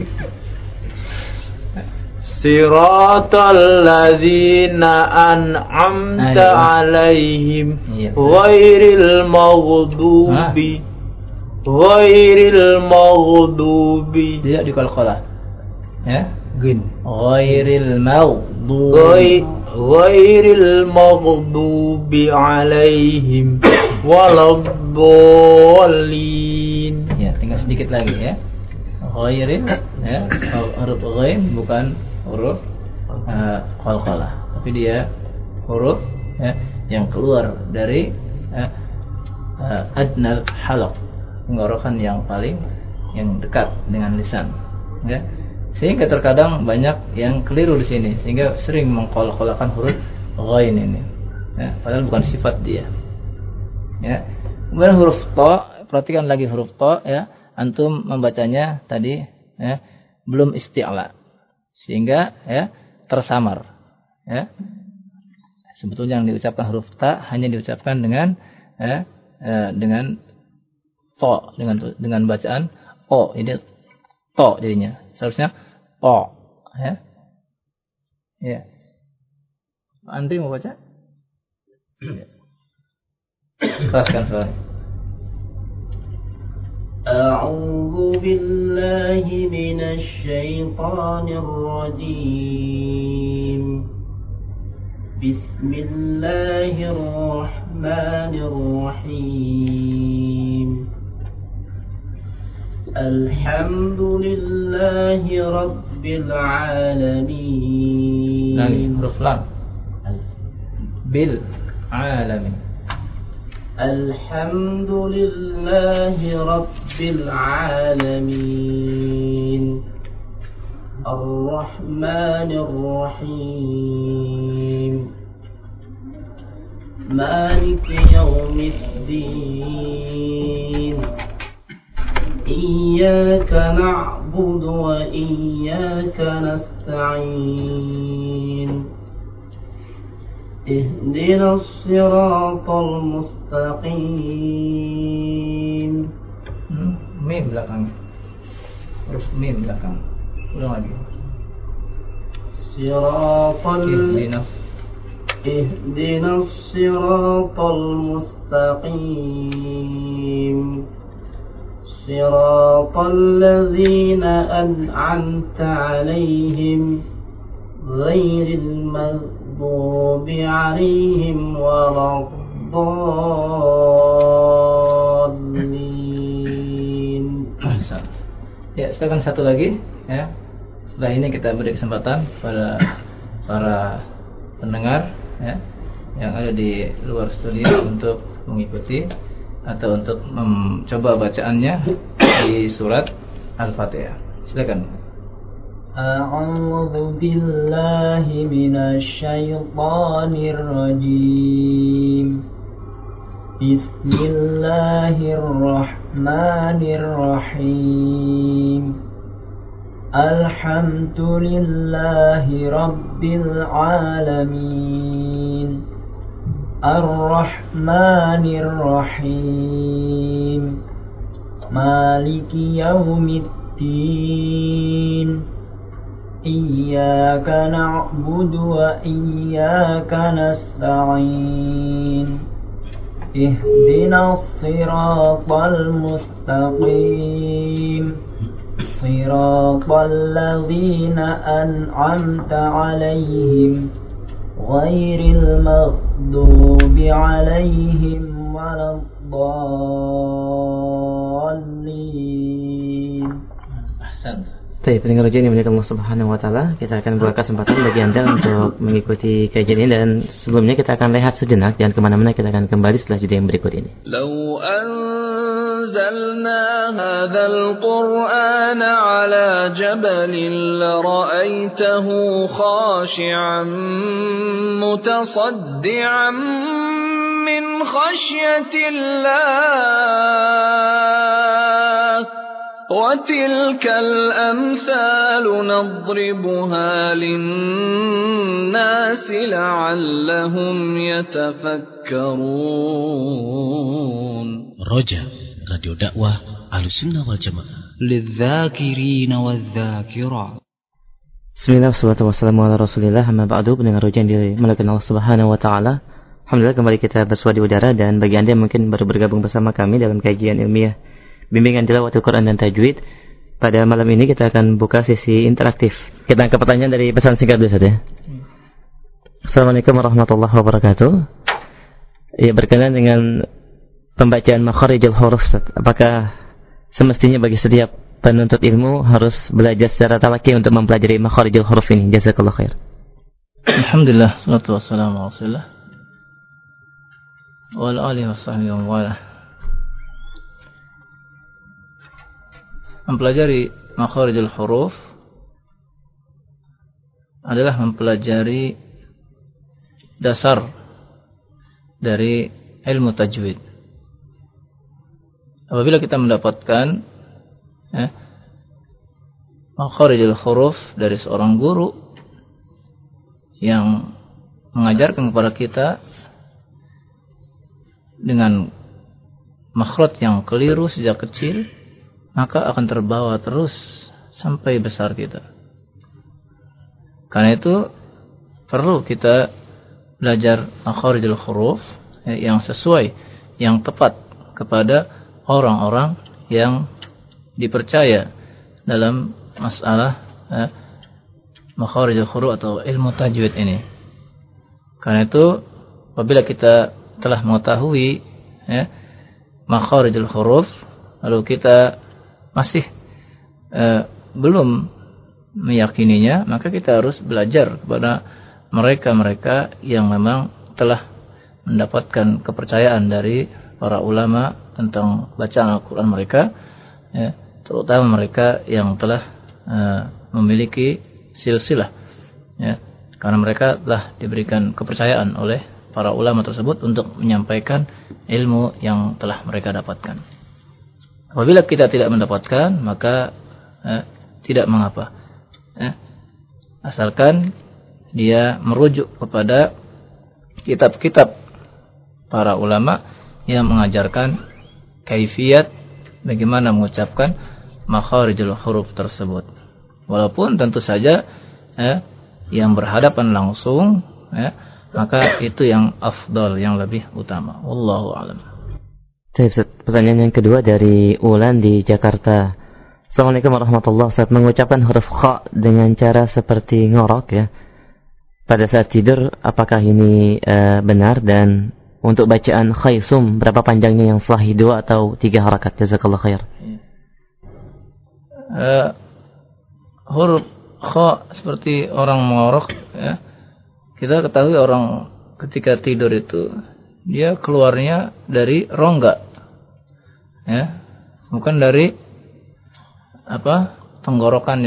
Siratal ladzina an'amta 'alaihim ghairil maghdubi tidak diqalqalah ya, gin ghairil maghdubi 'alaihim waladdallin. Ya, tinggal sedikit lagi ya. Ghairil ya, huruf ghain bukan huruf qalqalah, tapi dia huruf ya, yang keluar dari adnal halaq, tenggorokan yang paling yang dekat dengan lisan ya. Sehingga terkadang banyak yang keliru di sini, sehingga sering mengqalqalahkan huruf ghain ini ya, padahal bukan sifat dia ya. Kemudian huruf ta, perhatikan lagi huruf ta ya, antum membacanya tadi ya, belum isti'la, sehingga ya tersamar ya. Sebetulnya yang diucapkan huruf ta hanya diucapkan dengan dengan to, dengan bacaan o, ini to jadinya. Seharusnya to ya. Ya. Andri mau baca? Keraskan suara. أعوذ بالله من الشيطان الرجيم. بسم الله الرحمن الرحيم. الحمد لله رب العالمين. Lagi huruf lam. Bil alamin. الحمد لله رب العالمين. الرحمن الرحيم. مالك يوم الدين. إياك نعبد وإياك نستعين. اهدنا الصراط المستقيم. Mim belakang. Huruf mim belakang. Ulang lagi. اهدنا الصراط المستقيم صراط الذين أنعمت عليهم غير المغضوب عليهم ولا الضالين. Ya, silakan satu lagi ya. Setelah ini kita beri kesempatan pada para pendengar ya yang ada di luar studio untuk mengikuti atau untuk mencoba bacaannya di surat Al-Fatihah. Silakan. A'udzu billahi minasy syaithanir rajim. Bismillahirrahmanirrahim. Alhamdulillahi rabbil alamin. Ar-Rahmanir Rahim. Maliki yaumiddin. Iyyaka na'budu wa iyyaka nasta'in. Ihdinas siratal mustaqim. Siratal ladzina an'amta 'alaihim ghairil maghdubi 'alaihim waladdallin. Ahsan. Baik, pendengar ujian yang dimuliakan Allah Subhanahu wa taala, kita akan buka kesempatan bagi Anda untuk mengikuti kajian ini, dan sebelumnya kita akan rehat sejenak, jangan kemana-mana, kita akan kembali setelah jeda yang berikut ini. Lau anzalna hadzal Qur'ana 'ala jabalin la ra'aitahu khashi'an mutasaddian min khashyatillah. وَتِلْكَ الْأَمْثَالُ نَضْرِبُهَا لِلنَّاسِ لَعَلَّهُمْ يَتَفَكَّرُونَ. Roja, Radio Dakwah Ahlussunnah wal Jamaah. لِلذَّاكِرِينَ وَالذَّاكِرَاتِ. Bismillah, wassalatu wassalamu ala Rasulillah, amma ba'du. Pendengar roja yang dimuliakan Allah Subhanahu wa taala, alhamdulillah kembali kita bersua di udara, dan bagi Anda yang mungkin baru bergabung bersama kami dalam kajian ilmiah bimbingan tilawatul Quran dan tajwid, pada malam ini kita akan buka sesi interaktif. Kita angkat pertanyaan dari pesan singkat dulu saja. Assalamualaikum warahmatullahi wabarakatuh. Ya, berkenaan dengan pembacaan makharijul huruf, apakah semestinya bagi setiap penuntut ilmu harus belajar secara talaqi untuk mempelajari makharijul huruf ini? Jazakallah khair. Alhamdulillah, salatu wassalamu ala Rasulillah wa ala alihi washabbihi wa wala. Mempelajari makharijul huruf adalah mempelajari dasar dari ilmu tajwid. Apabila kita mendapatkan makharijul huruf dari seorang guru yang mengajarkan kepada kita dengan makhraj yang keliru sejak kecil, maka akan terbawa terus sampai besar kita. Karena itu perlu kita belajar makharijul huruf yang sesuai, yang tepat kepada orang-orang yang dipercaya dalam masalah makharijul huruf atau ilmu tajwid ini. Karena itu apabila kita telah mengetahui makharijul huruf, lalu kita masih belum meyakininya, maka kita harus belajar kepada mereka-mereka yang memang telah mendapatkan kepercayaan dari para ulama tentang bacaan Al-Quran mereka, terutama mereka yang telah memiliki silsilah, karena mereka telah diberikan kepercayaan oleh para ulama tersebut untuk menyampaikan ilmu yang telah mereka dapatkan. Apabila kita tidak mendapatkan, maka tidak mengapa, asalkan dia merujuk kepada kitab-kitab para ulama yang mengajarkan kaifiyat bagaimana mengucapkan makharijul huruf tersebut. Walaupun tentu saja yang berhadapan langsung maka itu yang afdal, yang lebih utama. Wallahu a'lam. Pertanyaan yang kedua dari Ulan di Jakarta. Assalamualaikum warahmatullahi wabarakatuh. Mengucapkan huruf kha dengan cara seperti ngorok ya pada saat tidur, apakah ini benar? Dan untuk bacaan khaysum, berapa panjangnya yang sahih, 2 atau 3 harakat? Jazakallah khair. Huruf kha seperti orang mengorok ya. Kita ketahui orang ketika tidur itu dia keluarnya dari rongga, ya, bukan dari tenggorokan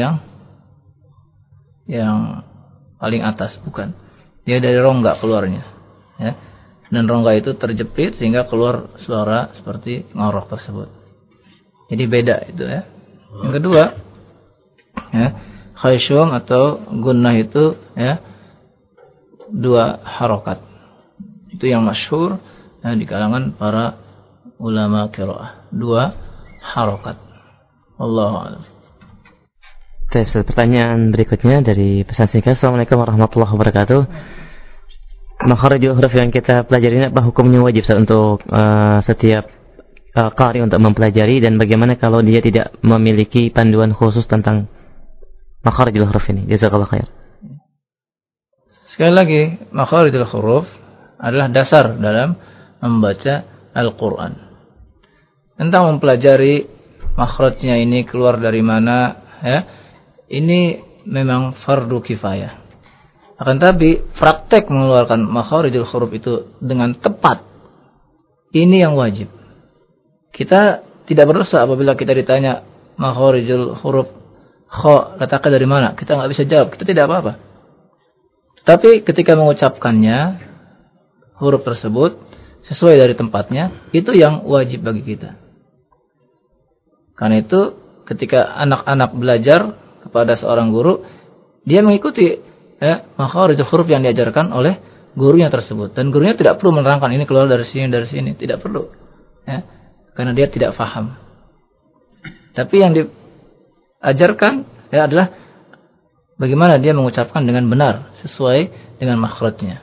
yang paling atas, bukan. Dia dari rongga keluarnya, ya, dan rongga itu terjepit sehingga keluar suara seperti ngorok tersebut. Jadi beda itu ya. Yang kedua, ya, khayshum atau gunnah itu ya 2 harokat. Itu yang masyhur di kalangan para ulama qiraah. 2 harokat. Wallahu a'lam. Pertanyaan berikutnya dari pesan singkat. Assalamualaikum warahmatullahi wabarakatuh. Makharijul huruf yang kita pelajari ini apa hukumnya wajib untuk setiap qari untuk mempelajari, dan bagaimana kalau dia tidak memiliki panduan khusus tentang makharijul huruf ini? Jazakallahu khair. Sekali lagi, makharijul huruf adalah dasar dalam membaca Al-Quran. Tentang mempelajari makhrajnya ini keluar dari mana, ya, ini memang fardu kifayah. Akan tapi praktek mengeluarkan makharijul huruf itu dengan tepat, ini yang wajib. Kita tidak berdosa apabila kita ditanya makharijul huruf kha letaknya dari mana, kita nggak bisa jawab, kita tidak apa-apa. Tapi ketika mengucapkannya, huruf tersebut sesuai dari tempatnya, itu yang wajib bagi kita. Karena itu ketika anak-anak belajar kepada seorang guru, dia mengikuti makharijul huruf yang diajarkan oleh gurunya tersebut. Dan gurunya tidak perlu menerangkan ini keluar dari sini, tidak perlu. Ya, karena dia tidak faham. Tapi yang diajarkan adalah bagaimana dia mengucapkan dengan benar sesuai dengan makhrajnya.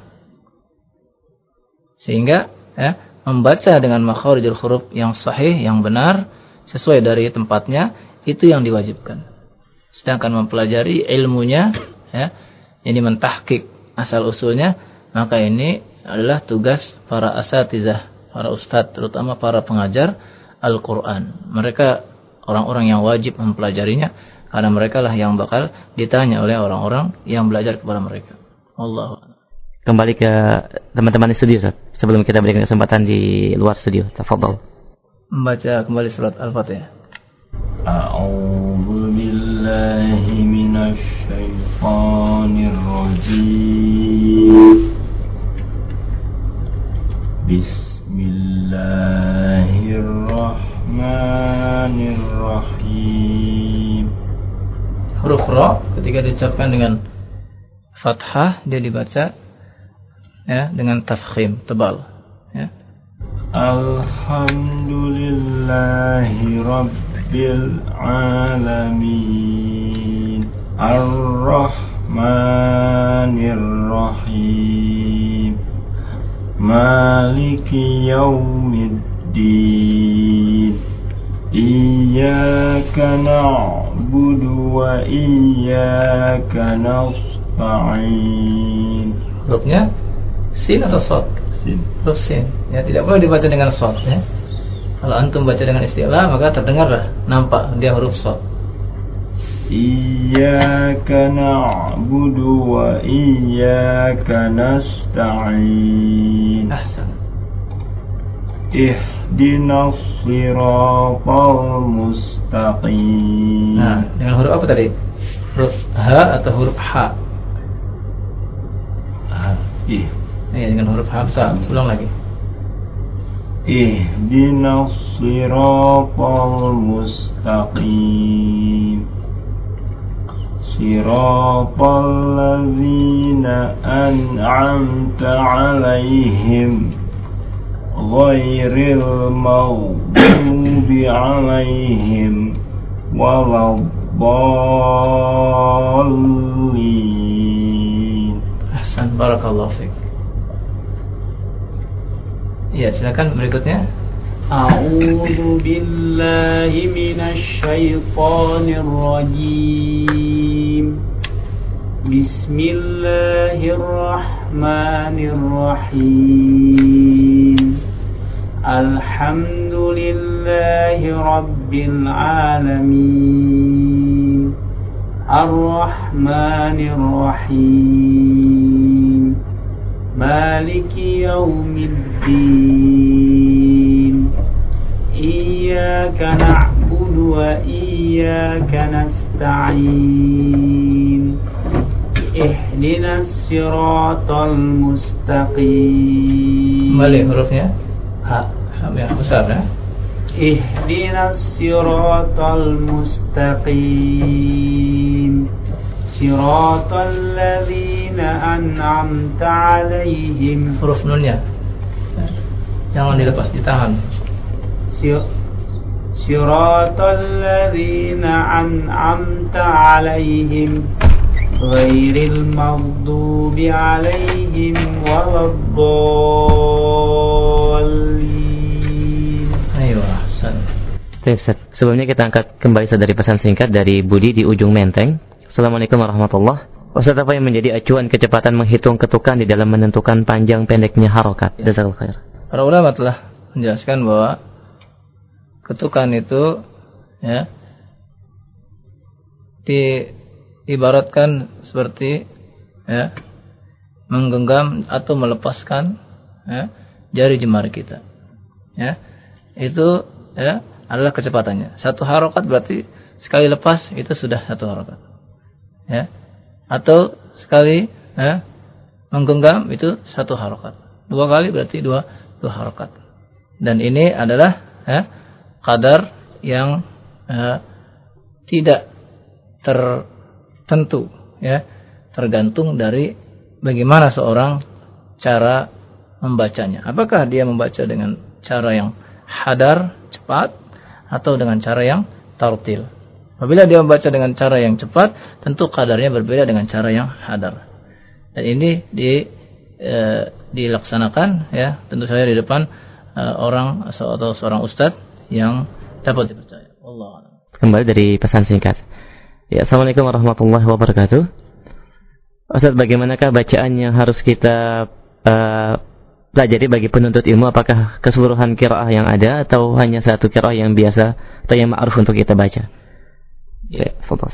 Sehingga membaca dengan makharijul huruf yang sahih, yang benar sesuai dari tempatnya, itu yang diwajibkan. Sedangkan mempelajari ilmunya, ini mentahqiq asal usulnya, maka ini adalah tugas para asatizah, para ustadz, terutama para pengajar Al-Quran. Mereka orang-orang yang wajib mempelajarinya, karena mereka lah yang bakal ditanya oleh orang-orang yang belajar kepada mereka. Allah. Kembali ke teman-teman di studio, Ustaz. Sebelum kita berikan kesempatan di luar studio, tafadhol. Membaca kembali surat Al-Fatihah. A'udzu billahi minasy syaithanir rajim. Bismillahirrahmanirrahim. Huruf ra ketika diucapkan dengan fathah, dia dibaca dengan tafkhim, tebal, ya. Alhamdulillahi rabbil alamin, ar-rahmanir rahim, maliki yaumiddin, iyyaka na'budu wa iyyaka nasta'in. Hurufnya sin atau shad? Sin. Huruf sin. Ya, tidak boleh dibaca dengan shad, ya. Kalau antum baca dengan istilah, maka terdengarlah, nampak dia huruf shad. Iyyaka na'budu wa iyyaka nasta'in. Ahsan. Ihdinas siratal mustaqim. Nah, dengan huruf apa tadi? Huruf ha atau huruf ha? Ya, dengan huruf hamzah. Ulang lagi. Ihdinas siratal mustaqim, siratal ladzina أنعمت عليهم غير المغضوب عليهم ولا الضالين. Ahsan, barakallahu fiik. Ya, silakan berikutnya. A'udzu billahi minasy syaithanir rajim. Bismillahirrahmanirrahim. Alhamdulillahi rabbil alamin. Ar-Rahmanir Rahim. Maliki yaumiddin. Iyyaka na'budu wa iyyaka nasta'in. Ihdinas siratal mustaqim. Kembali hurufnya. Ha yang besar ya. Ihdinas siratal mustaqim. Siratal ladzina an'amta 'alaihim. Huruf nunnya jangan dilepas, ditahan. Siratal ladzina an'amta 'alaihim ghairil maghdubi 'alaihim waladdallin. Ayo, ahsan. Baik, Ustaz. Sebelumnya kita angkat kembali dari pesan singkat dari Budi di ujung Menteng. Assalamualaikum warahmatullahi. Ustaz, apa yang menjadi acuan kecepatan menghitung ketukan di dalam menentukan panjang pendeknya harokat? Jazakallahu khair. Para ulama telah menjelaskan bahwa ketukan itu ya diibaratkan seperti ya menggenggam atau melepaskan ya jari jemari kita. Ya. Itu ya adalah kecepatannya. Satu harokat berarti sekali lepas itu sudah satu harokat. Ya. Atau sekali ya, menggenggam itu satu harokat. Dua kali berarti dua harokat. Dan ini adalah ya, qadar yang tidak tertentu, ya, tergantung dari bagaimana seorang cara membacanya. Apakah dia membaca dengan cara yang hadar, cepat, atau dengan cara yang tartil? Apabila dia membaca dengan cara yang cepat, tentu kadarnya berbeda dengan cara yang hadar. Dan ini dilaksanakan ya, tentu saja di depan orang atau seorang ustadz yang dapat dipercaya. Allah. Kembali dari pesan singkat. Ya, Assalamualaikum warahmatullahi wabarakatuh. Ustaz, bagaimanakah bacaan yang harus kita pelajari bagi penuntut ilmu? Apakah keseluruhan qiraah yang ada atau hanya satu qiraah yang biasa atau yang ma'ruf untuk kita baca? Ya,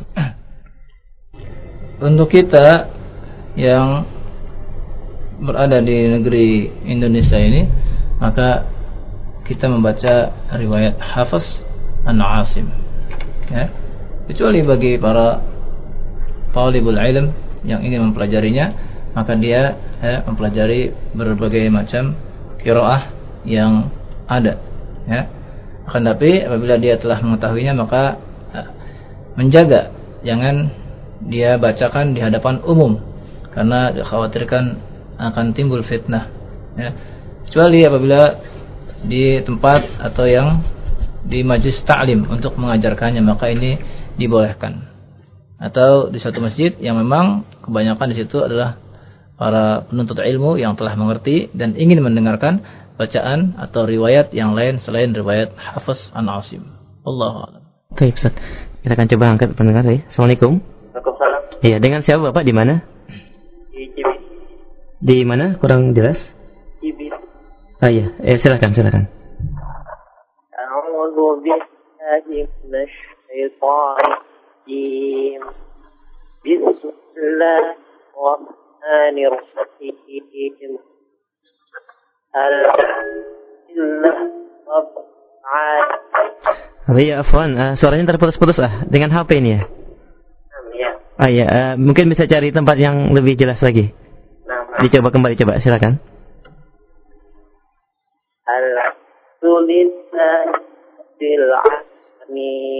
untuk kita yang berada di negeri Indonesia ini, maka kita membaca riwayat Hafiz an Asim. Ya. Kecuali bagi para talibul ilm yang ingin mempelajarinya, maka dia mempelajari berbagai macam qiraah yang ada. Ya. Akan tapi apabila dia telah mengetahuinya, maka menjaga jangan dia bacakan di hadapan umum karena dikhawatirkan akan timbul fitnah. Ya. Kecuali apabila di tempat atau yang di majlis ta'lim untuk mengajarkannya, maka ini dibolehkan. Atau di suatu masjid yang memang kebanyakan di situ adalah para penuntut ilmu yang telah mengerti dan ingin mendengarkan bacaan atau riwayat yang lain selain riwayat Hafiz an Asim. Allahu a'lam. Baik, Ustaz. Kita akan coba angkat pendengar ya. Assalamualaikum. Waalaikumsalam. Iya, dengan siapa Bapak, di mana? Di Cibit. Di mana? Kurang jelas. Cibit. Ah iya, silakan. A'udzu billahi minasy syaithanir rajim. Bismillahirrahmanirrahim. Iya, afwan, suaranya terputus-putus dengan HP ini ya. Iya. Iya, mungkin bisa cari tempat yang lebih jelas lagi. Dicoba kembali, coba silakan. Alhamdulillahil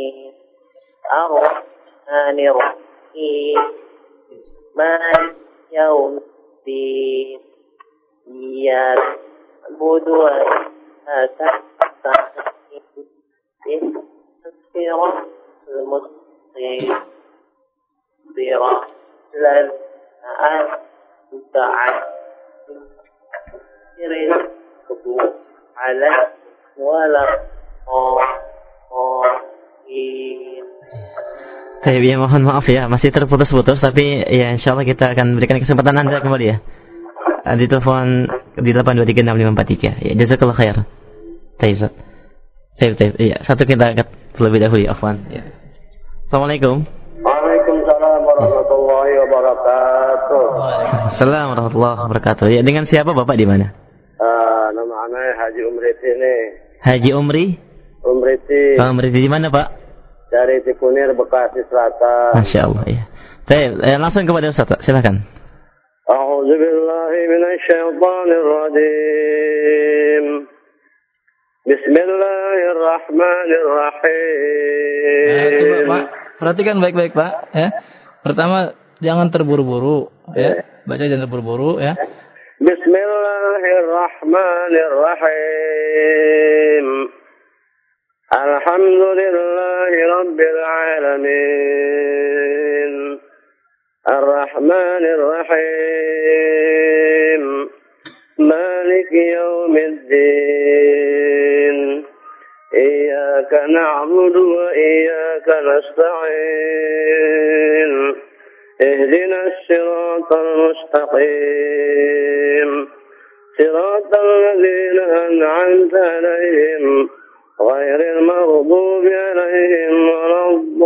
alamin ar-rahmanir rahim maliki يوم الدين إياك نعبد وإياك نستعين اهدنا الصراط المستقيم صراط الذين أنعمت عليهم غير المغضوب عليهم ولا الضالين. Ya, mohon maaf ya, masih terputus-putus, tapi ya insya Allah kita akan berikan kesempatan Anda kembali ya. Di telepon di 8236543. Ya, jazakallah khair. Taib. Iya, satu kita angkat terlebih dahulu ya, afwan. Ya. Assalamualaikum. Waalaikumsalam warahmatullahi wabarakatuh. Waalaikumsalam warahmatullahi wabarakatuh. Ya, dengan siapa Bapak di mana? Nama anak Haji Umriti nih. Haji Umriti. Umriti di mana Pak? Dari Cikunir, Bekasi Selatan. Masya Allah ya. Baik, langsung kepada Ustaz, silakan. A'udzubillahi minasyaitonirrajim. Bismillahirrahmanirrahim. Coba Pak, perhatikan baik-baik Pak. Ya. Pertama, jangan terburu-buru. Ya. Baca jangan terburu-buru. Ya. Bismillahirrahmanirrahim. Alhamdulillahi Rabbil Alamin. Ar-Rahmanir Rahim. Maliki Yawmiddin. Iyyaka na'budu wa iyyaka nasta'in. Ihdinas siratal mustaqim. Siratal ladzina an'amta 'alaihim غير المغضوب عليهم ولا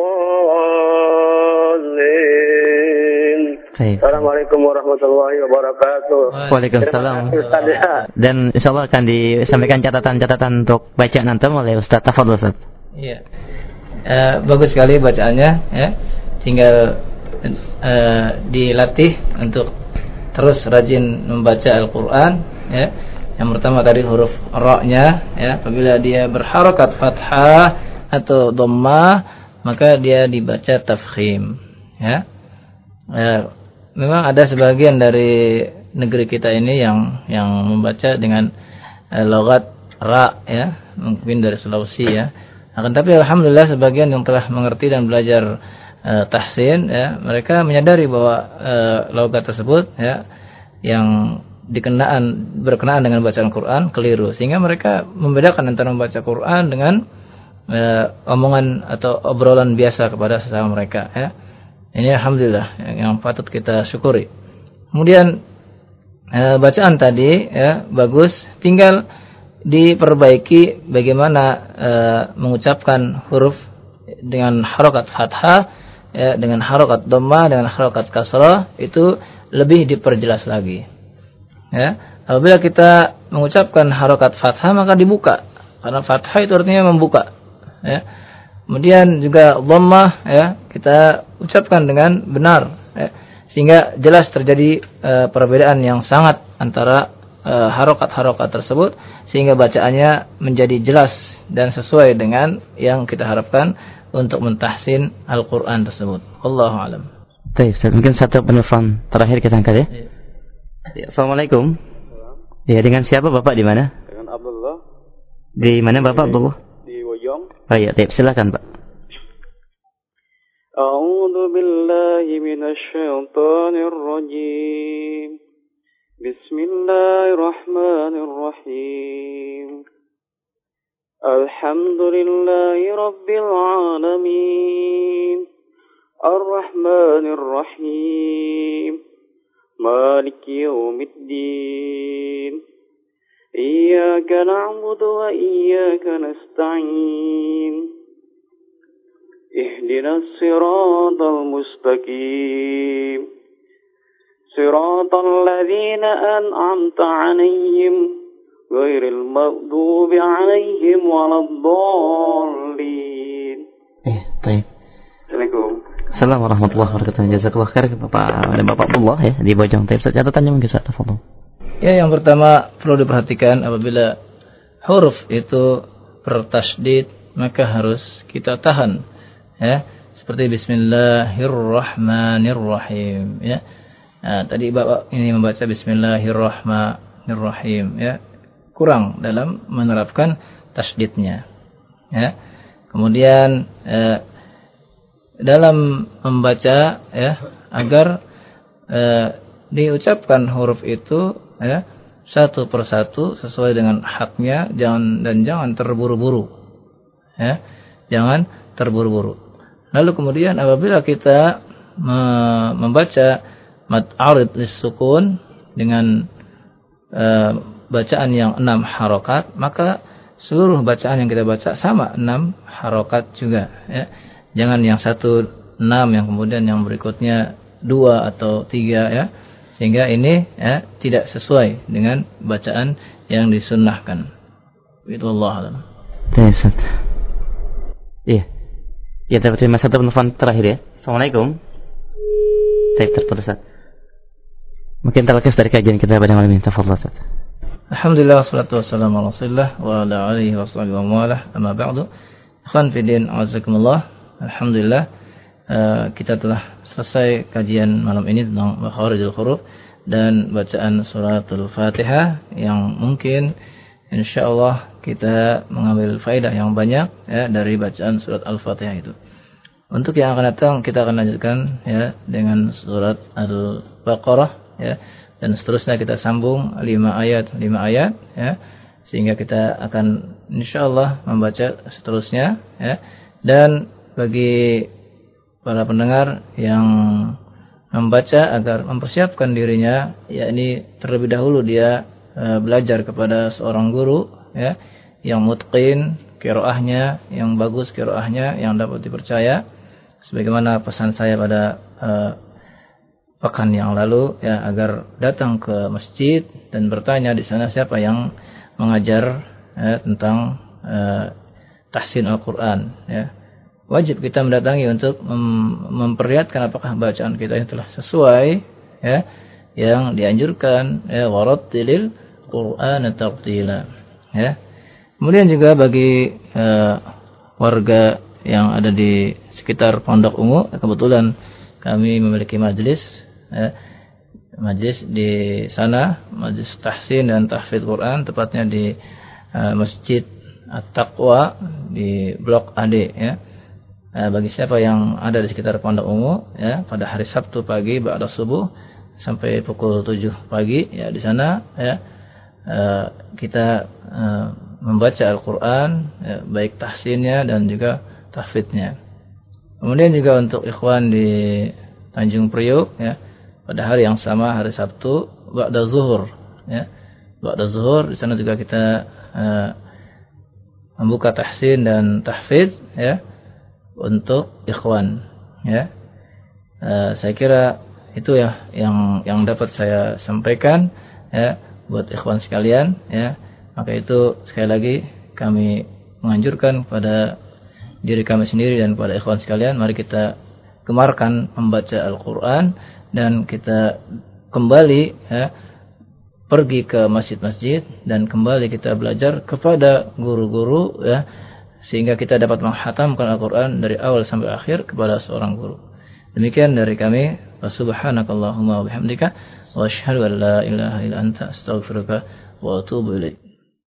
الضالين. Assalamualaikum warahmatullahi wabarakatuh. Waalaikumsalam. Dan insyaallah akan disampaikan catatan-catatan untuk bacaan antum oleh Ustaz. Tafadhol Ustaz. Iya. Bagus sekali bacaannya ya. Tinggal dilatih untuk terus rajin membaca Al-Qur'an ya. Yang pertama tadi huruf ra-nya ya, apabila dia berharakat fathah atau dhammah maka dia dibaca tafkhim ya. Memang ada sebagian dari negeri kita ini yang membaca dengan logat ra ya, mungkin dari Sulawesi ya. Akan tapi alhamdulillah sebagian yang telah mengerti dan belajar tahsin ya, mereka menyadari bahwa logat tersebut ya yang berkenaan dengan bacaan Quran keliru, sehingga mereka membedakan antara membaca Quran dengan omongan atau obrolan biasa kepada sesama mereka ya. Ini alhamdulillah yang patut kita syukuri. Kemudian bacaan tadi ya bagus, tinggal diperbaiki bagaimana mengucapkan huruf dengan harokat fathah ya, dengan harokat dhammah, dengan harokat kasrah, itu lebih diperjelas lagi. Ya, apabila kita mengucapkan harokat fathah maka dibuka, karena fathah itu artinya membuka. Ya. Kemudian juga dhammah ya kita ucapkan dengan benar, ya, sehingga jelas terjadi perbedaan yang sangat antara harokat-harokat tersebut, sehingga bacaannya menjadi jelas dan sesuai dengan yang kita harapkan untuk mentahsin Al-Quran tersebut. Wallahu a'lam. Baik, mungkin satu penelpon terakhir kita angkat ya. Ya, Assalamualaikum. Ya, dengan siapa Bapak di mana? Dengan Abdullah. Di mana Bapak Abdullah? Di Wojong. Oh iya, silakan Pak. A'udzu billahi minasyaitonir rajim. Bismillahirrahmanirrahim. Alhamdulillahi rabbil alamin. Ar-Rahmanir Rahim. Maliki Yawmiddin. Iyyaka na'budu wa iyyaka nasta'in. Ihdinas siratal mustaqim. Siratal ladzina an'amta 'alaihim ghairil maghdubi 'alaihim waladdallin. Baik. Assalamualaikum. Assalamualaikum warahmatullahi wabarakatuh. Jazakallah khair Bapak Abdullah ya di Bojong. Tapi catatannya mungkin saya tafadhol. Ya, yang pertama perlu diperhatikan apabila huruf itu bertasydid maka harus kita tahan ya, seperti bismillahirrahmanirrahim ya. Tadi Bapak ini membaca Bismillahirrahmanirrahim, ya. Kurang dalam menerapkan tasydidnya, ya. Kemudian dalam membaca, ya, agar diucapkan huruf itu, ya, satu persatu sesuai dengan haknya, jangan terburu-buru, ya, jangan terburu-buru. Lalu kemudian apabila kita membaca mad arid lis-sukun dengan bacaan yang 6 harokat, maka seluruh bacaan yang kita baca sama 6 harokat juga, ya. Jangan yang 1 6, yang kemudian yang berikutnya 2 atau 3, ya. Sehingga ini, ya, tidak sesuai dengan bacaan yang disunnahkan. Wallahu a'lam. Iya. Ya, terima satu penelpon terakhir, ya. Assalamualaikum. Baik, terputus, Ustaz. Mungkin terlepas dari kajian kita pada malam ini. Tafadhol, Ustaz. Alhamdulillah, wassalatu wassalamu ala Rasulillah wa ala alihi washabihi wa mawalah. Amma ba'du. Ikhwan fillah, azakumullah. Alhamdulillah, kita telah selesai kajian malam ini tentang makharijul huruf dan bacaan suratul Fatihah, yang mungkin insyaallah kita mengambil faedah yang banyak, ya, dari bacaan surat Al-Fatihah itu. Untuk yang akan datang kita akan lanjutkan, ya, dengan surat Al-Baqarah, ya, dan seterusnya kita sambung 5 ayat, ya, sehingga kita akan insyaallah membaca seterusnya, ya. Dan bagi para pendengar yang membaca agar mempersiapkan dirinya, yakni terlebih dahulu dia belajar kepada seorang guru, ya, yang mutqin qiraahnya, yang bagus qiraahnya, yang dapat dipercaya, sebagaimana pesan saya pada pekan yang lalu, ya, agar datang ke masjid dan bertanya di sana siapa yang mengajar, ya, tentang tahsin Al-Qur'an, ya. Wajib kita mendatangi untuk memperlihatkan apakah bacaan kita ini telah sesuai, ya, yang dianjurkan, ya, warattilil Qur'ana tartila, ya. Kemudian juga bagi warga yang ada di sekitar Pondok Ungu, kebetulan kami memiliki majelis, ya, majelis di sana, majelis tahsin dan tahfidz Quran, tepatnya di Masjid At-Taqwa di Blok AD, ya. Bagi siapa yang ada di sekitar Pondok Ungu, ya, pada hari Sabtu pagi ba'da subuh sampai pukul 7 pagi, ya, di sana, ya, kita membaca Al-Qur'an, ya, baik tahsinnya dan juga tahfidnya. Kemudian juga untuk ikhwan di Tanjung Priok, ya, pada hari yang sama, hari Sabtu ba'da zuhur, ya, ba'da zuhur, di sana juga kita membuka tahsin dan tahfidz, ya, untuk ikhwan, ya. Saya kira itu, ya, yang dapat saya sampaikan, ya, buat ikhwan sekalian, ya. Maka itu sekali lagi kami menganjurkan pada diri kami sendiri dan pada ikhwan sekalian, mari kita gemarkan membaca Al-Qur'an dan kita kembali, ya, pergi ke masjid-masjid dan kembali kita belajar kepada guru-guru, ya, sehingga kita dapat menghatamkan Al-Qur'an dari awal sampai akhir kepada seorang guru. Demikian dari kami. Subhanakallahumma wa bihamdika wa asyhadu an la ilaha illa anta astaghfiruka wa atubu ilaik.